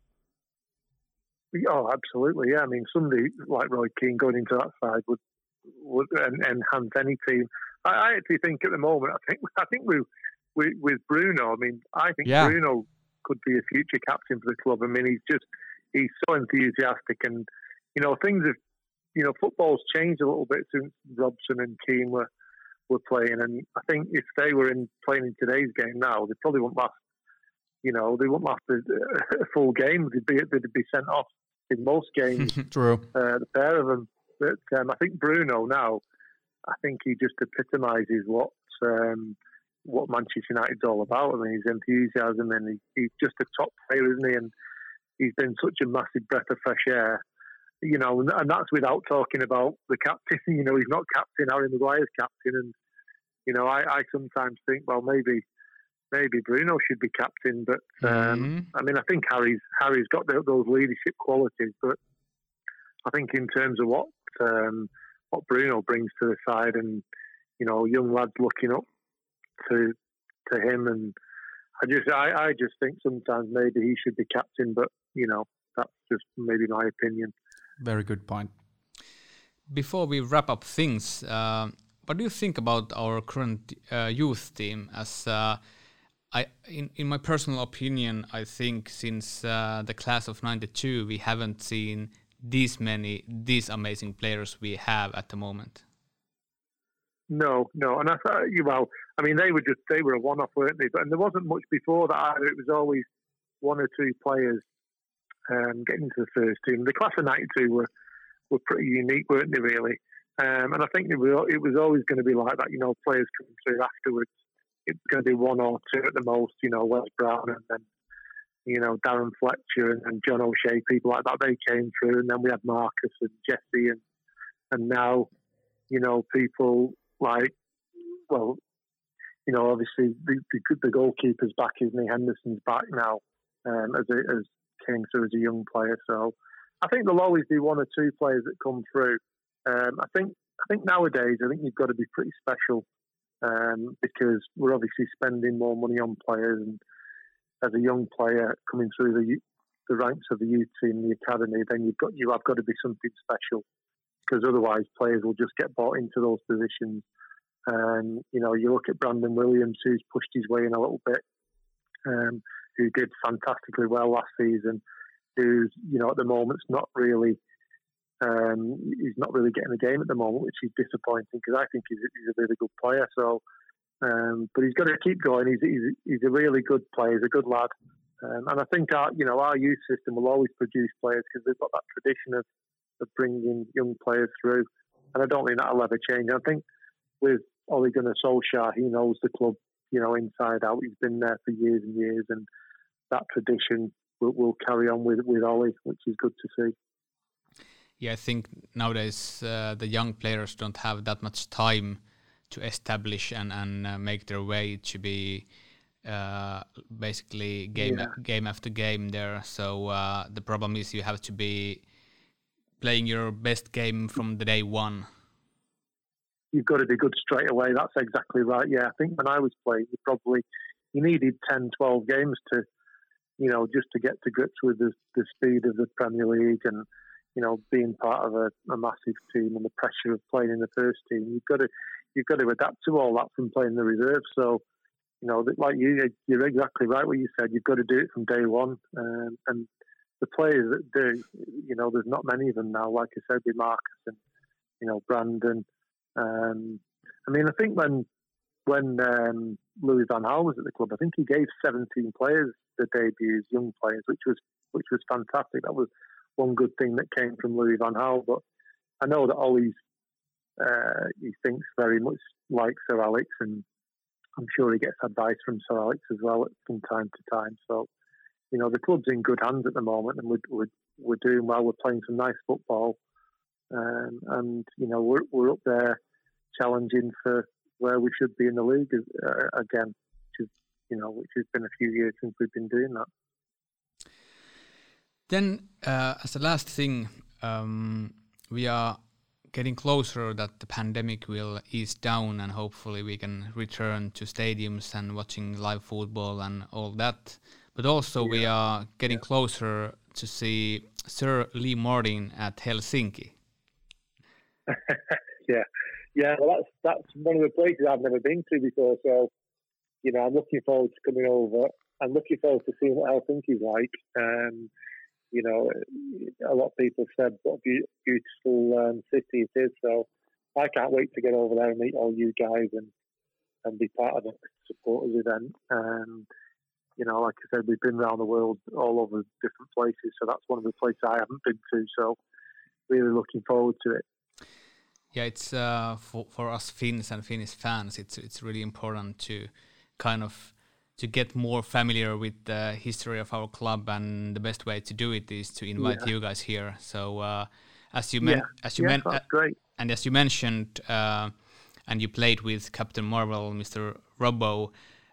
Oh, absolutely, yeah. I mean, somebody like Roy Keane going into that side would enhance any team. I actually think at the moment, I think we with Bruno. I mean, I think Bruno could be a future captain for the club. I mean, he's so enthusiastic, and things have football's changed a little bit since Robson and Keane were playing. And I think if they were playing in today's game now, they probably wouldn't last. They wouldn't last a full game. They'd be sent off in most games. True. The pair of them. But I think Bruno now, I think he just epitomises what Manchester United's all about. I mean, his enthusiasm, and he's just a top player, isn't he? And he's been such a massive breath of fresh air. And that's without talking about the captain. He's not captain. Harry Maguire's captain, and I sometimes think, well, maybe Bruno should be captain. But I mean, I think Harry's got those leadership qualities. But I think in terms of what Bruno brings to the side, and young lads looking up to him, and I just think sometimes maybe he should be captain. But that's just maybe my opinion. Very good point. Before we wrap up things, what do you think about our current youth team? As in my personal opinion, I think since the class of '92, we haven't seen these amazing players we have at the moment. No, and I thought, I mean, they were a one-off, weren't they? And there wasn't much before that either. It was always one or two players getting into the first team. The class of '92 were pretty unique, weren't they? Really, and I think it was always going to be like that. Players coming through afterwards. It's going to be one or two at the most. Wes Brown, and then Darren Fletcher and John O'Shea, people like that. They came through, and then we had Marcus and Jesse, and now people like, well, obviously the goalkeeper's back, isn't he? Henderson's back now, as came through as a young player. So I think there'll always be one or two players that come through. I think nowadays, I think you've got to be pretty special because we're obviously spending more money on players, and as a young player coming through the ranks of the youth team, the academy, then you have got to be something special, because otherwise players will just get bought into those positions. You look at Brandon Williams, who's pushed his way in a little bit, who did fantastically well last season, who's at the moment's not really he's not really getting the game at the moment, which is disappointing, because I think he's a really good player. So, but he's got to keep going. He's a really good player. He's a good lad, and I think our youth system will always produce players, because they've got that tradition of bringing young players through, and I don't think that'll ever change. I think with Ole Gunnar Solskjaer, he knows the club, inside out. He's been there for years and years, and that tradition will carry on with Ole, which is good to see. Yeah, I think nowadays the young players don't have that much time to establish and make their way to be basically game after game there. So the problem is you have to be playing your best game from the day one. You've got to be good straight away. That's exactly right. Yeah, I think when I was playing, you needed 10, 12 games to, just to get to grips with the speed of the Premier League and, being part of a massive team and the pressure of playing in the first team. You've got to adapt to all that from playing the reserve. So, like you're exactly right what you said. You've got to do it from day one. And the players that do, there's not many of them now. Like I said, with Marcus and, Brandon. I mean, I think when when Louis van Gaal was at the club, I think he gave 17 players the debuts, young players, which was fantastic. That was one good thing that came from Louis van Gaal. But I know that Ollie's he thinks very much like Sir Alex, and I'm sure he gets advice from Sir Alex as well from time to time. So, the club's in good hands at the moment, and we're doing well. We're playing some nice football, and we're up there challenging for where we should be in the league again, which has been a few years since we've been doing that. Then, as a last thing, we are getting closer that the pandemic will ease down and hopefully we can return to stadiums and watching live football and all that. But also we are getting closer to see Sir Lee Martin at Helsinki. Yeah. Well, that's one of the places I've never been to before. So, I'm looking forward to coming over. I'm looking forward to seeing what Helsinki's like. A lot of people said what a beautiful city it is. So I can't wait to get over there and meet all you guys and be part of the supporters event. Like I said, we've been around the world all over different places. So that's one of the places I haven't been to. So really looking forward to it. Yeah, it's for us Finns and Finnish fans, it's really important to kind of to get more familiar with the history of our club, and the best way to do it is to invite you guys here. So as you mentioned, and you played with Captain Marvel, Mr. Robbo.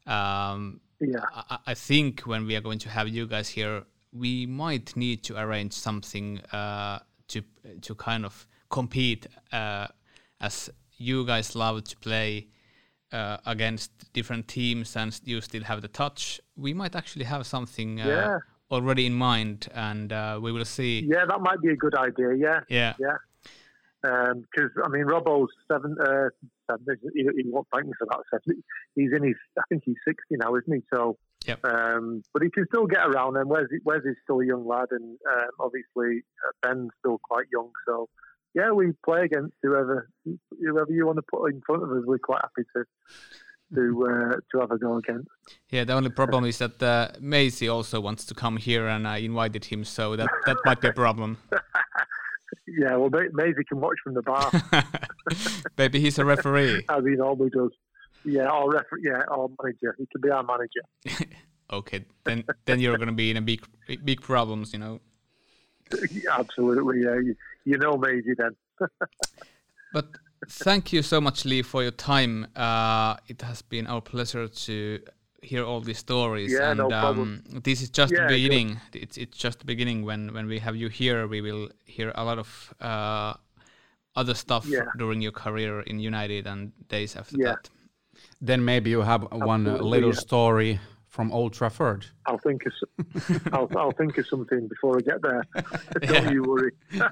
I think when we are going to have you guys here, we might need to arrange something to kind of compete, as you guys love to play against different teams and you still have the touch. We might actually have something already in mind, and we will see. Yeah, that might be a good idea. Yeah. Because Robbo's 7. He won't thank me for that. 7. He's in his. I think he's 60 now, isn't he? So. Yep. But he can still get around. And Wes is still a young lad, and obviously Ben's still quite young. So. Yeah, we play against whoever you want to put in front of us. We're quite happy to have a go against. Yeah, the only problem is that Maisie also wants to come here, and I invited him, so that might be a problem. Yeah, well, Maisie can watch from the bar. Maybe he's a referee. As he normally does. Yeah, or manager. He can be our manager. Okay, then you're going to be in a big problems, Absolutely, yeah. You know Maisie then. But thank you so much, Lee, for your time. It has been our pleasure to hear all these stories. Yeah, and no problem. This is just the beginning. It's just the beginning. When we have you here, we will hear a lot of other stuff during your career in United and days after that. Then maybe you have one little story from Old Trafford. I'll think of something before I get there. Don't you worry.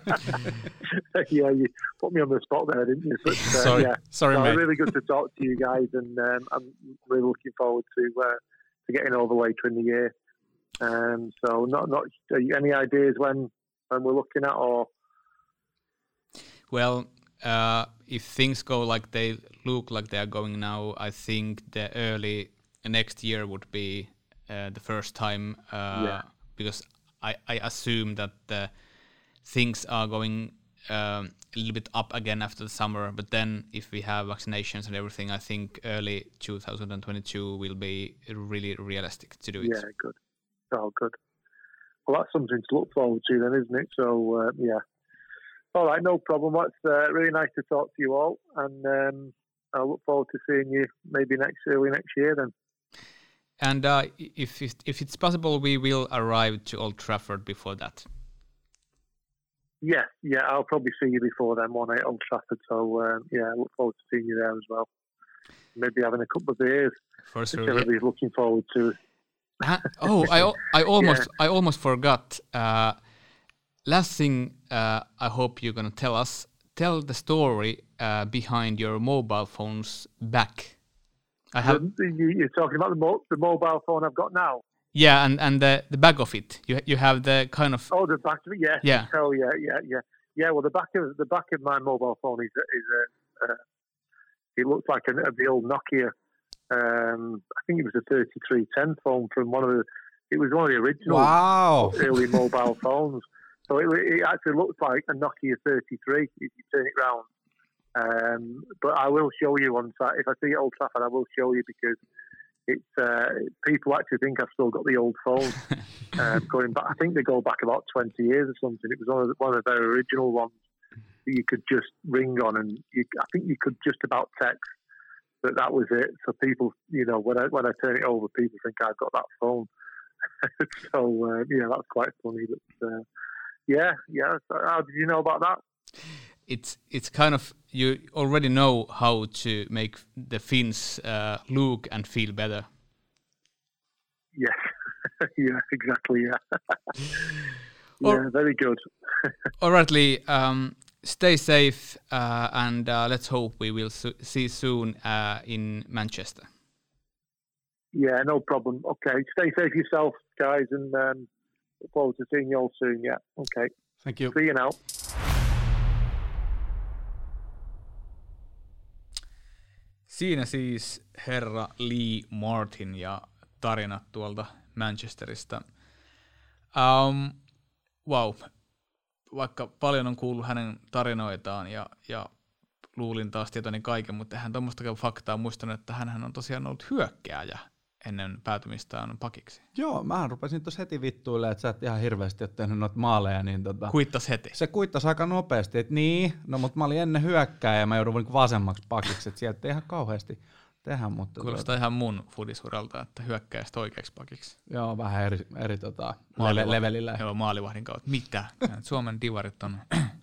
You put me on the spot there, didn't you? But, sorry, mate. Really good to talk to you guys, and I'm really looking forward to getting over later in the year. So, not any ideas when we're looking at, or? Well, if things go like they look like they are going now, I think the early next year would be the first time, because I assume that things are going a little bit up again after the summer. But then if we have vaccinations and everything, I think early 2022 will be really realistic to do it. Yeah, good. Oh, good. Well, that's something to look forward to then, isn't it? So, All right, no problem. It's really nice to talk to you all. And I look forward to seeing you maybe early next year then. And if it's possible, we will arrive to Old Trafford before that. Yeah, I'll probably see you before then, one at Old Trafford. So, I look forward to seeing you there as well. Maybe having a couple of beers. For sure. Which everybody's looking forward to. I almost forgot. Last thing, I hope you're going to tell us. Tell the story behind your mobile phone's back. You're talking about the mobile phone I've got now? Yeah, and the back of it. You have the kind of... Oh, the back of it, yeah. Yeah. Oh, yeah. Yeah, well, the back of my mobile phone is it looks like the old Nokia I think it was a 3310 phone from one of the original early mobile phones. So it actually looks like a Nokia 33 if you turn it round. But I will show you on site. If I see it at Old Trafford, I will show you because it's people actually think I've still got the old phone going back. I think they go back about 20 years or something. It was one of the very original ones that you could just ring on, and I think you could just about text. But that was it. So people, when I turn it over, people think I've got that phone. So that's quite funny. But yeah. How did you know about that? It's kind of, you already know how to make the Finns look and feel better. Yes, yeah, exactly, yeah. Yeah, very good. All right, Lee, stay safe and let's hope we will see soon in Manchester. Yeah, no problem. Okay, stay safe yourself, guys, and look forward to seeing you all soon, yeah. Okay. Thank you. See you now. Siinä siis herra Lee Martin ja tarinat tuolta Manchesterista. Wow, vaikka paljon on kuullut hänen tarinoitaan ja luulin taas tietoni kaiken, mutta hän tuommoistakaan faktaa muistanut, että hän on tosiaan ollut hyökkääjä ennen päätymistään pakiksi. Joo, mähän rupesin tuossa heti vittuille, että sä et ihan hirveästi ole tehnyt noita maaleja. Niin kuittas heti. Se kuittasi aika nopeasti, että mutta mä olin ennen hyökkääjä ja mä joudun niin vasemmaksi pakiksi, että sieltä ei ihan kauheasti tehdä. Mutta kuulostaa ihan mun fudisuralta, että hyökkääjästä oikeaksi pakiksi. Joo, vähän eri levelillä. Joo, maalivahdin kautta. Mitä? Suomen divarit on.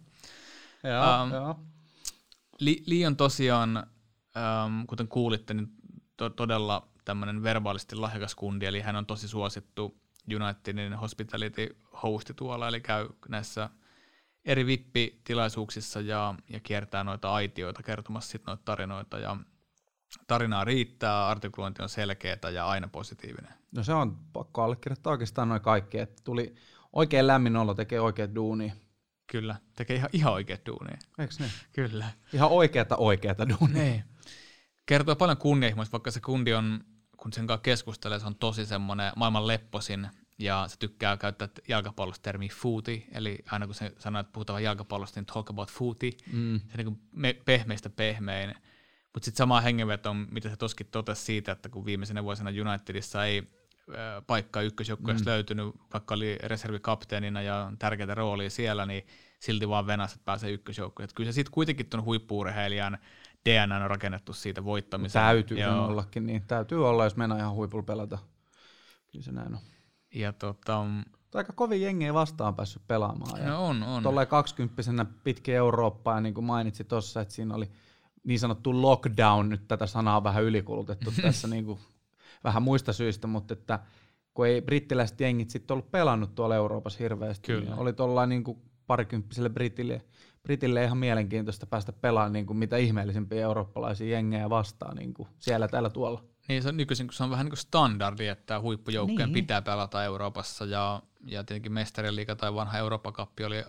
Joo. Lee on tosiaan, kuten kuulitte, niin todella tämmöinen verbaalisti lahjakas kundi, eli hän on tosi suosittu Unitedin hospitality-hosti tuolla, eli käy näissä eri VIP-tilaisuuksissa ja kiertää noita aitioita kertomassa sitten noita tarinoita, ja tarinaa riittää, artikulointi on selkeätä ja aina positiivinen. No se on pakko allekirjoittaa oikeastaan noin kaikki, että tuli oikein lämmin olo, tekee oikeat duunia. Kyllä, tekee ihan oikeat duunia. Eikö niin? Kyllä. Ihan oikeata duunia. Niin. Kertoo paljon kunnianhimoista, vaikka se kundi on, kun sen kanssa keskustelee, se on tosi semmoinen maailman lepposin, ja se tykkää käyttää jalkapallosta termiä footy, eli aina kun se sanoo, että puhutaan jalkapallosta, niin talk about footy, se niin kuin pehmeistä pehmein. Mutta sitten samaa hengenvetoa, mitä se toskin totesi siitä, että kun viimeisenä vuosina Unitedissa ei paikkaa ykkösjoukkueessa löytynyt, vaikka oli reservikapteenina ja tärkeitä roolia siellä, niin silti vaan venässä, että pääsee ykkösjoukkueeseen. Kyllä se sitten kuitenkin tuon huippu-urheilijan DNA on rakennettu siitä voittamiseen. Täytyy ollakin niin. Täytyy olla, jos mennään ihan huipulla pelata. Kyllä se näin on. Ja aika kovin jengiä vastaan päässyt pelaamaan. No on. Tuollain 20-vuotiaana pitkin Eurooppaa, ja niin kuin mainitsin tuossa, että siinä oli niin sanottu lockdown, nyt tätä sanaa on vähän ylikulutettu tässä niin kuin vähän muista syistä, mutta että kun ei brittiläiset jengit sitten ollut pelannut tuolla Euroopassa hirveästi, niin oli tuollain niin kuin parikymppiselle Britille ihan mielenkiintoista päästä pelaamaan niin kuin mitä ihmeellisempiä eurooppalaisia jengejä vastaan niin kuin siellä täällä tuolla. Niin se on nykyisin, kun se on vähän niin kuin standardi, että huippujoukkojen pitää pelata Euroopassa ja tietenkin Mestariliiga tai vanha Eurooppa-kappi oli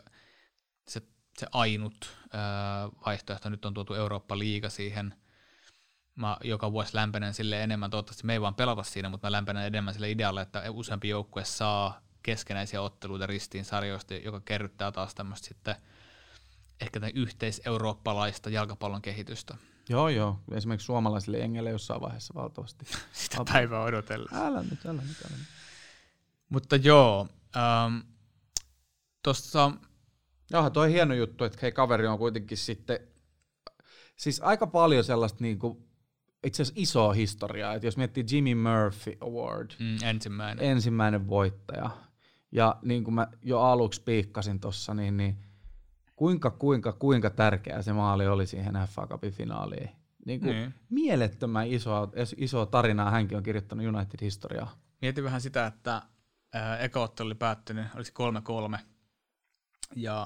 se ainut vaihtoehto. Nyt on tuotu Eurooppa-liiga siihen. Mä joka vuosi lämpenen sille enemmän, toivottavasti me ei vaan pelata siinä, mutta mä lämpenen enemmän sille idealle, että useampi joukkue saa keskenäisiä otteluita ristiin sarjoista, joka kerryttää taas tämmöistä sitten ehkä yhteiseurooppalaista jalkapallon kehitystä. Joo. Esimerkiksi suomalaisille jengeille jossain vaiheessa valtavasti. Sitä päivää odotellessa. Älä nyt. Mutta joo, tuossa... Joo, toi hieno juttu, että hei, kaveri on kuitenkin sitten, siis aika paljon sellaista niinku, itse asiassa isoa historiaa, että jos miettii Jimmy Murphy Award, ensimmäinen voittaja, ja niin kuin mä jo aluksi piikkasin tuossa, niin kuinka tärkeä se maali oli siihen FA Cupin finaaliin. Mielettömän isoa tarinaa hänkin on kirjoittanut United-historiaa. Mietin vähän sitä, että eka ottelu oli päättynyt, olisi 3-3, ja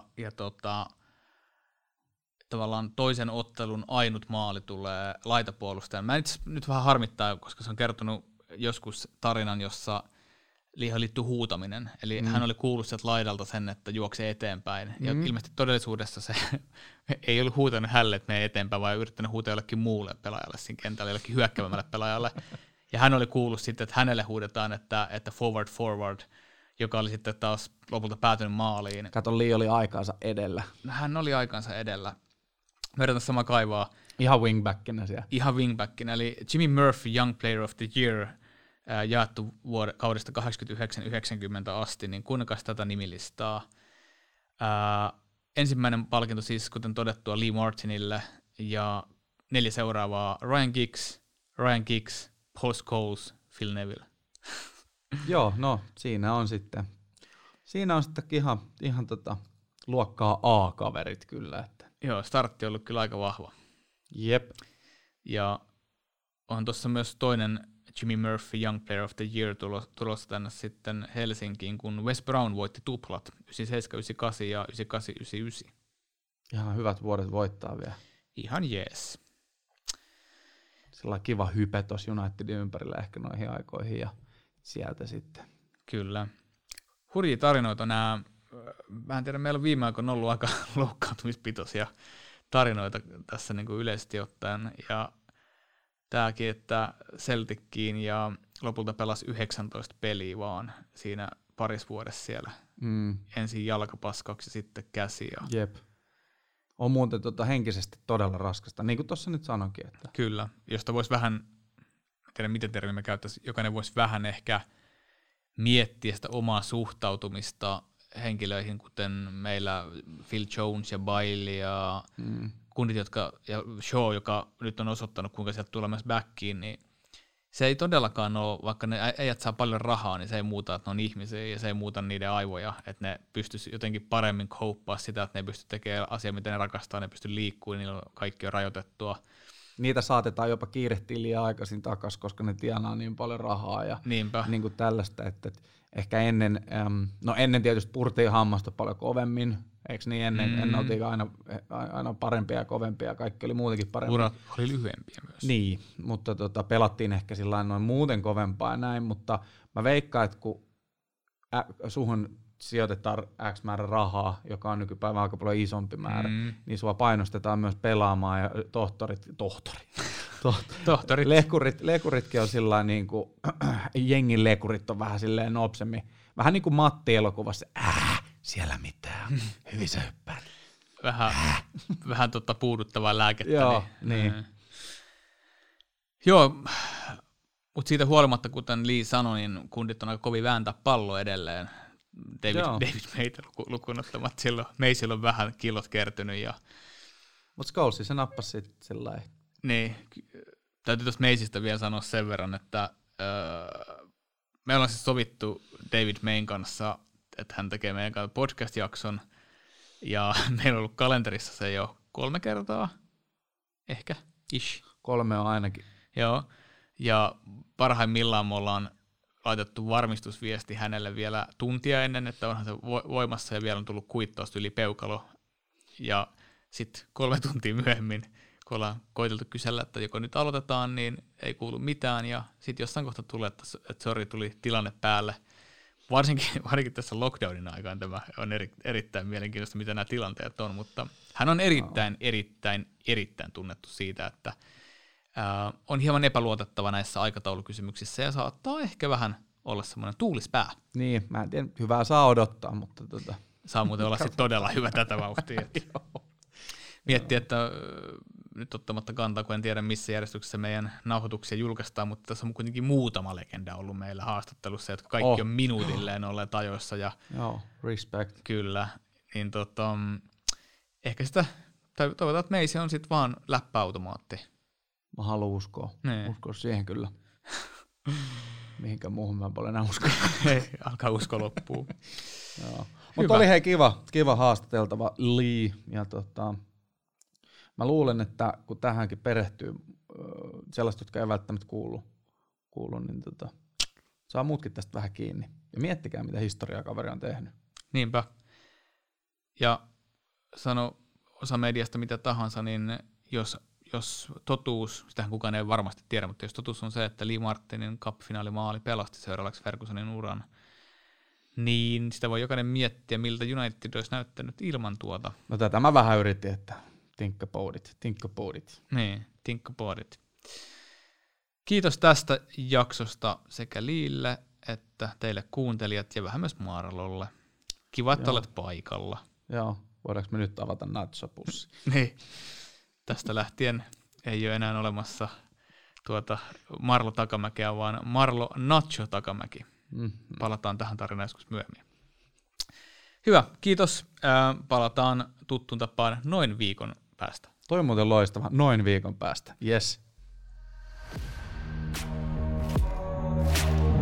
tavallaan toisen ottelun ainut maali tulee laitapuolustajan. Mä nyt vähän harmittaa, koska se on kertonut joskus tarinan, jossa Liihan liittyy huutaminen. Eli hän oli kuullut sieltä laidalta sen, että juoksee eteenpäin. Ja ilmeisesti todellisuudessa se ei ollut huutanut hälle, että menee eteenpäin, vaan yrittänyt huutaa jollekin muulle pelaajalle siinä kentällä, jollekin hyökkäävämmälle pelaajalle. Ja hän oli kuullut sitten, että hänelle huudetaan, että forward, joka oli sitten taas lopulta päätynyt maaliin. Kato, Lee oli aikaansa edellä. Hän oli aikaansa edellä. Me yritän sama kaivaa. Ihan wingbackinä siellä. Ihan wingbackinä, eli Jimmy Murphy, Young Player of the Year, jaettu kaudesta 89-90 asti, niin kuunnelkaa tätä nimilistaa. Ensimmäinen palkinto siis, kuten todettua, Lee Martinille, ja 4 seuraavaa: Ryan Giggs, Paul Scholes, Phil Neville. Joo, no siinä on sitten ihan luokkaa A-kaverit kyllä. Että. Joo, startti on ollut kyllä aika vahva. Jep. Ja on tuossa myös toinen Jimmy Murphy Young Player of the Year tulossa tänne sitten Helsinkiin, kun Wes Brown voitti tuplat 97, 98 ja 98, 99. Ihan hyvät vuodet voittaa vielä. Ihan jees. Sellainen kiva hype tuossa Unitedin ympärillä ehkä noihin aikoihin ja sieltä sitten. Kyllä. Hurjia tarinoita nämä. Mä en tiedä, meillä on viime aikoina ollut aika loukkaantumispitoisia tarinoita tässä niin kuin yleisesti ottaen. Ja tämäkin, että Celtickiin ja lopulta pelasi 19 peliä vaan siinä parissa vuodessa siellä. Ensin jalkapaskaksi ja sitten käsi. Jep. On muuten henkisesti todella raskasta, niin kuin tuossa nyt sanoinkin. Että. Kyllä, josta voisi vähän, en tiedä miten termi me käyttäisiin, jokainen voisi vähän ehkä miettiä sitä omaa suhtautumista henkilöihin, kuten meillä Phil Jones ja Bailey ja kundit, ja Shaw, joka nyt on osoittanut, kuinka sieltä tulee myös backiin, niin se ei todellakaan ole, vaikka ne äijät saa paljon rahaa, niin se ei muuta, että ne on ihmisiä ja se ei muuta niiden aivoja, että ne pystyisi jotenkin paremmin kouppaa sitä, että ne ei pysty tekemään asiaa, mitä ne rakastaa, ne pysty liikkumaan, niillä on kaikki on rajoitettua. Niitä saatetaan jopa kiirehtiä liian aikaisin takaisin, koska ne tienaa niin paljon rahaa ja niin kuin tällaista, että ehkä ennen tietysti purtiin hammasta paljon kovemmin, eikö niin ennen oltiin aina parempia ja kovempia, kaikki oli muutenkin parempia. Urat oli lyhyempiä myös. Niin, mutta pelattiin ehkä sillain noin muuten kovempaa ja näin, mutta mä veikkaan, että kun suhun sijoitetaan X määrä rahaa, joka on nykypäivän aika paljon isompi määrä, niin sua painostetaan myös pelaamaan ja lekuritkin on sillain niin kuin jengin lekurit on vähän silleen nopsemmin. Vähän niin kuin Matti-elokuvassa, siellä mitään, hyvin sä hyppäät. Vähän puuduttavaa lääkettä. Joo, niin. Joo, mutta siitä huolimatta, kuten Lee sanoi, niin kundit on aika kovin vääntää pallo edelleen. David Meitä lukuun ottamatta silloin. Meisillä on vähän kilot kertynyt. Mutta Scholesi se nappasi sitten sillä lailla. Niin, täytyy tuosta Meisistä vielä sanoa sen verran, että me ollaan siis sovittu David Mayn kanssa, että hän tekee meidän kanssa podcast-jakson, ja meillä on ollut kalenterissa se jo 3 kertaa, ehkä, ish. 3 on ainakin. Joo, ja parhaimmillaan me ollaan laitettu varmistusviesti hänelle vielä tuntia ennen, että onhan se voimassa, ja vielä on tullut kuittausta yli peukalo, ja sitten 3 tuntia myöhemmin, kun ollaan koiteltu kysellä, että joko nyt aloitetaan, niin ei kuulu mitään, ja sitten jossain kohta tulee, että sori, tuli tilanne päälle. Varsinkin tässä lockdownin aikaan tämä on erittäin mielenkiintoista, mitä nämä tilanteet on, mutta hän on erittäin tunnettu siitä, että on hieman epäluotettava näissä aikataulukysymyksissä ja saattaa ehkä vähän olla semmoinen tuulispää. Niin, mä en tiedä, hyvää saa odottaa, mutta saa muuten olla sitten todella hyvä tätä vauhtia. Miettii, että nyt ottamatta kantaa, kun en tiedä missä järjestyksessä meidän nauhoituksia julkaistaan, mutta tässä on kuitenkin muutama legenda ollut meillä haastattelussa, jotka kaikki on minuutilleen olleet ajoissa. Joo, respect. Kyllä, niin ehkä sitä, toivotaan, että meisi on sitten vaan läppäautomaatti. Mä haluan uskoa siihen kyllä. Mihinkään muuhun mä paljon enää usko. Alkaa usko loppuu. Mutta oli hei kiva haastateltava Lee. Ja mä luulen, että kun tähänkin perehtyy sellaista, jotka ei välttämättä kuulu niin saa muutkin tästä vähän kiinni. Ja miettikää, mitä historiaa kaveri on tehnyt. Niinpä. Ja sano osa mediasta mitä tahansa, niin jos totuus, sitähän kukaan ei varmasti tiedä, mutta jos totuus on se, että Lee Martinin cup-finaalimaali pelasti seuraavaksi Fergusonin uran, Niin, sitä voi jokainen miettiä, miltä United olisi näyttänyt ilman tuota. No tätä mä vähän yritin, että think about it. Niin, think about it. Kiitos tästä jaksosta sekä Liille että teille kuuntelijat ja vähän myös Marlolle. Kiva, että olet paikalla. Joo, voidaanko me nyt avata nachopussi? Niin, tästä lähtien ei ole enää olemassa Marlo Takamäkeä, vaan Marlo Nacho Takamäki. Palataan tähän tarinaan joskus myöhemmin. Hyvä, kiitos. Palataan tuttuun tapaan noin viikon päästä. Toi on muuten loistava. Noin viikon päästä. Yes.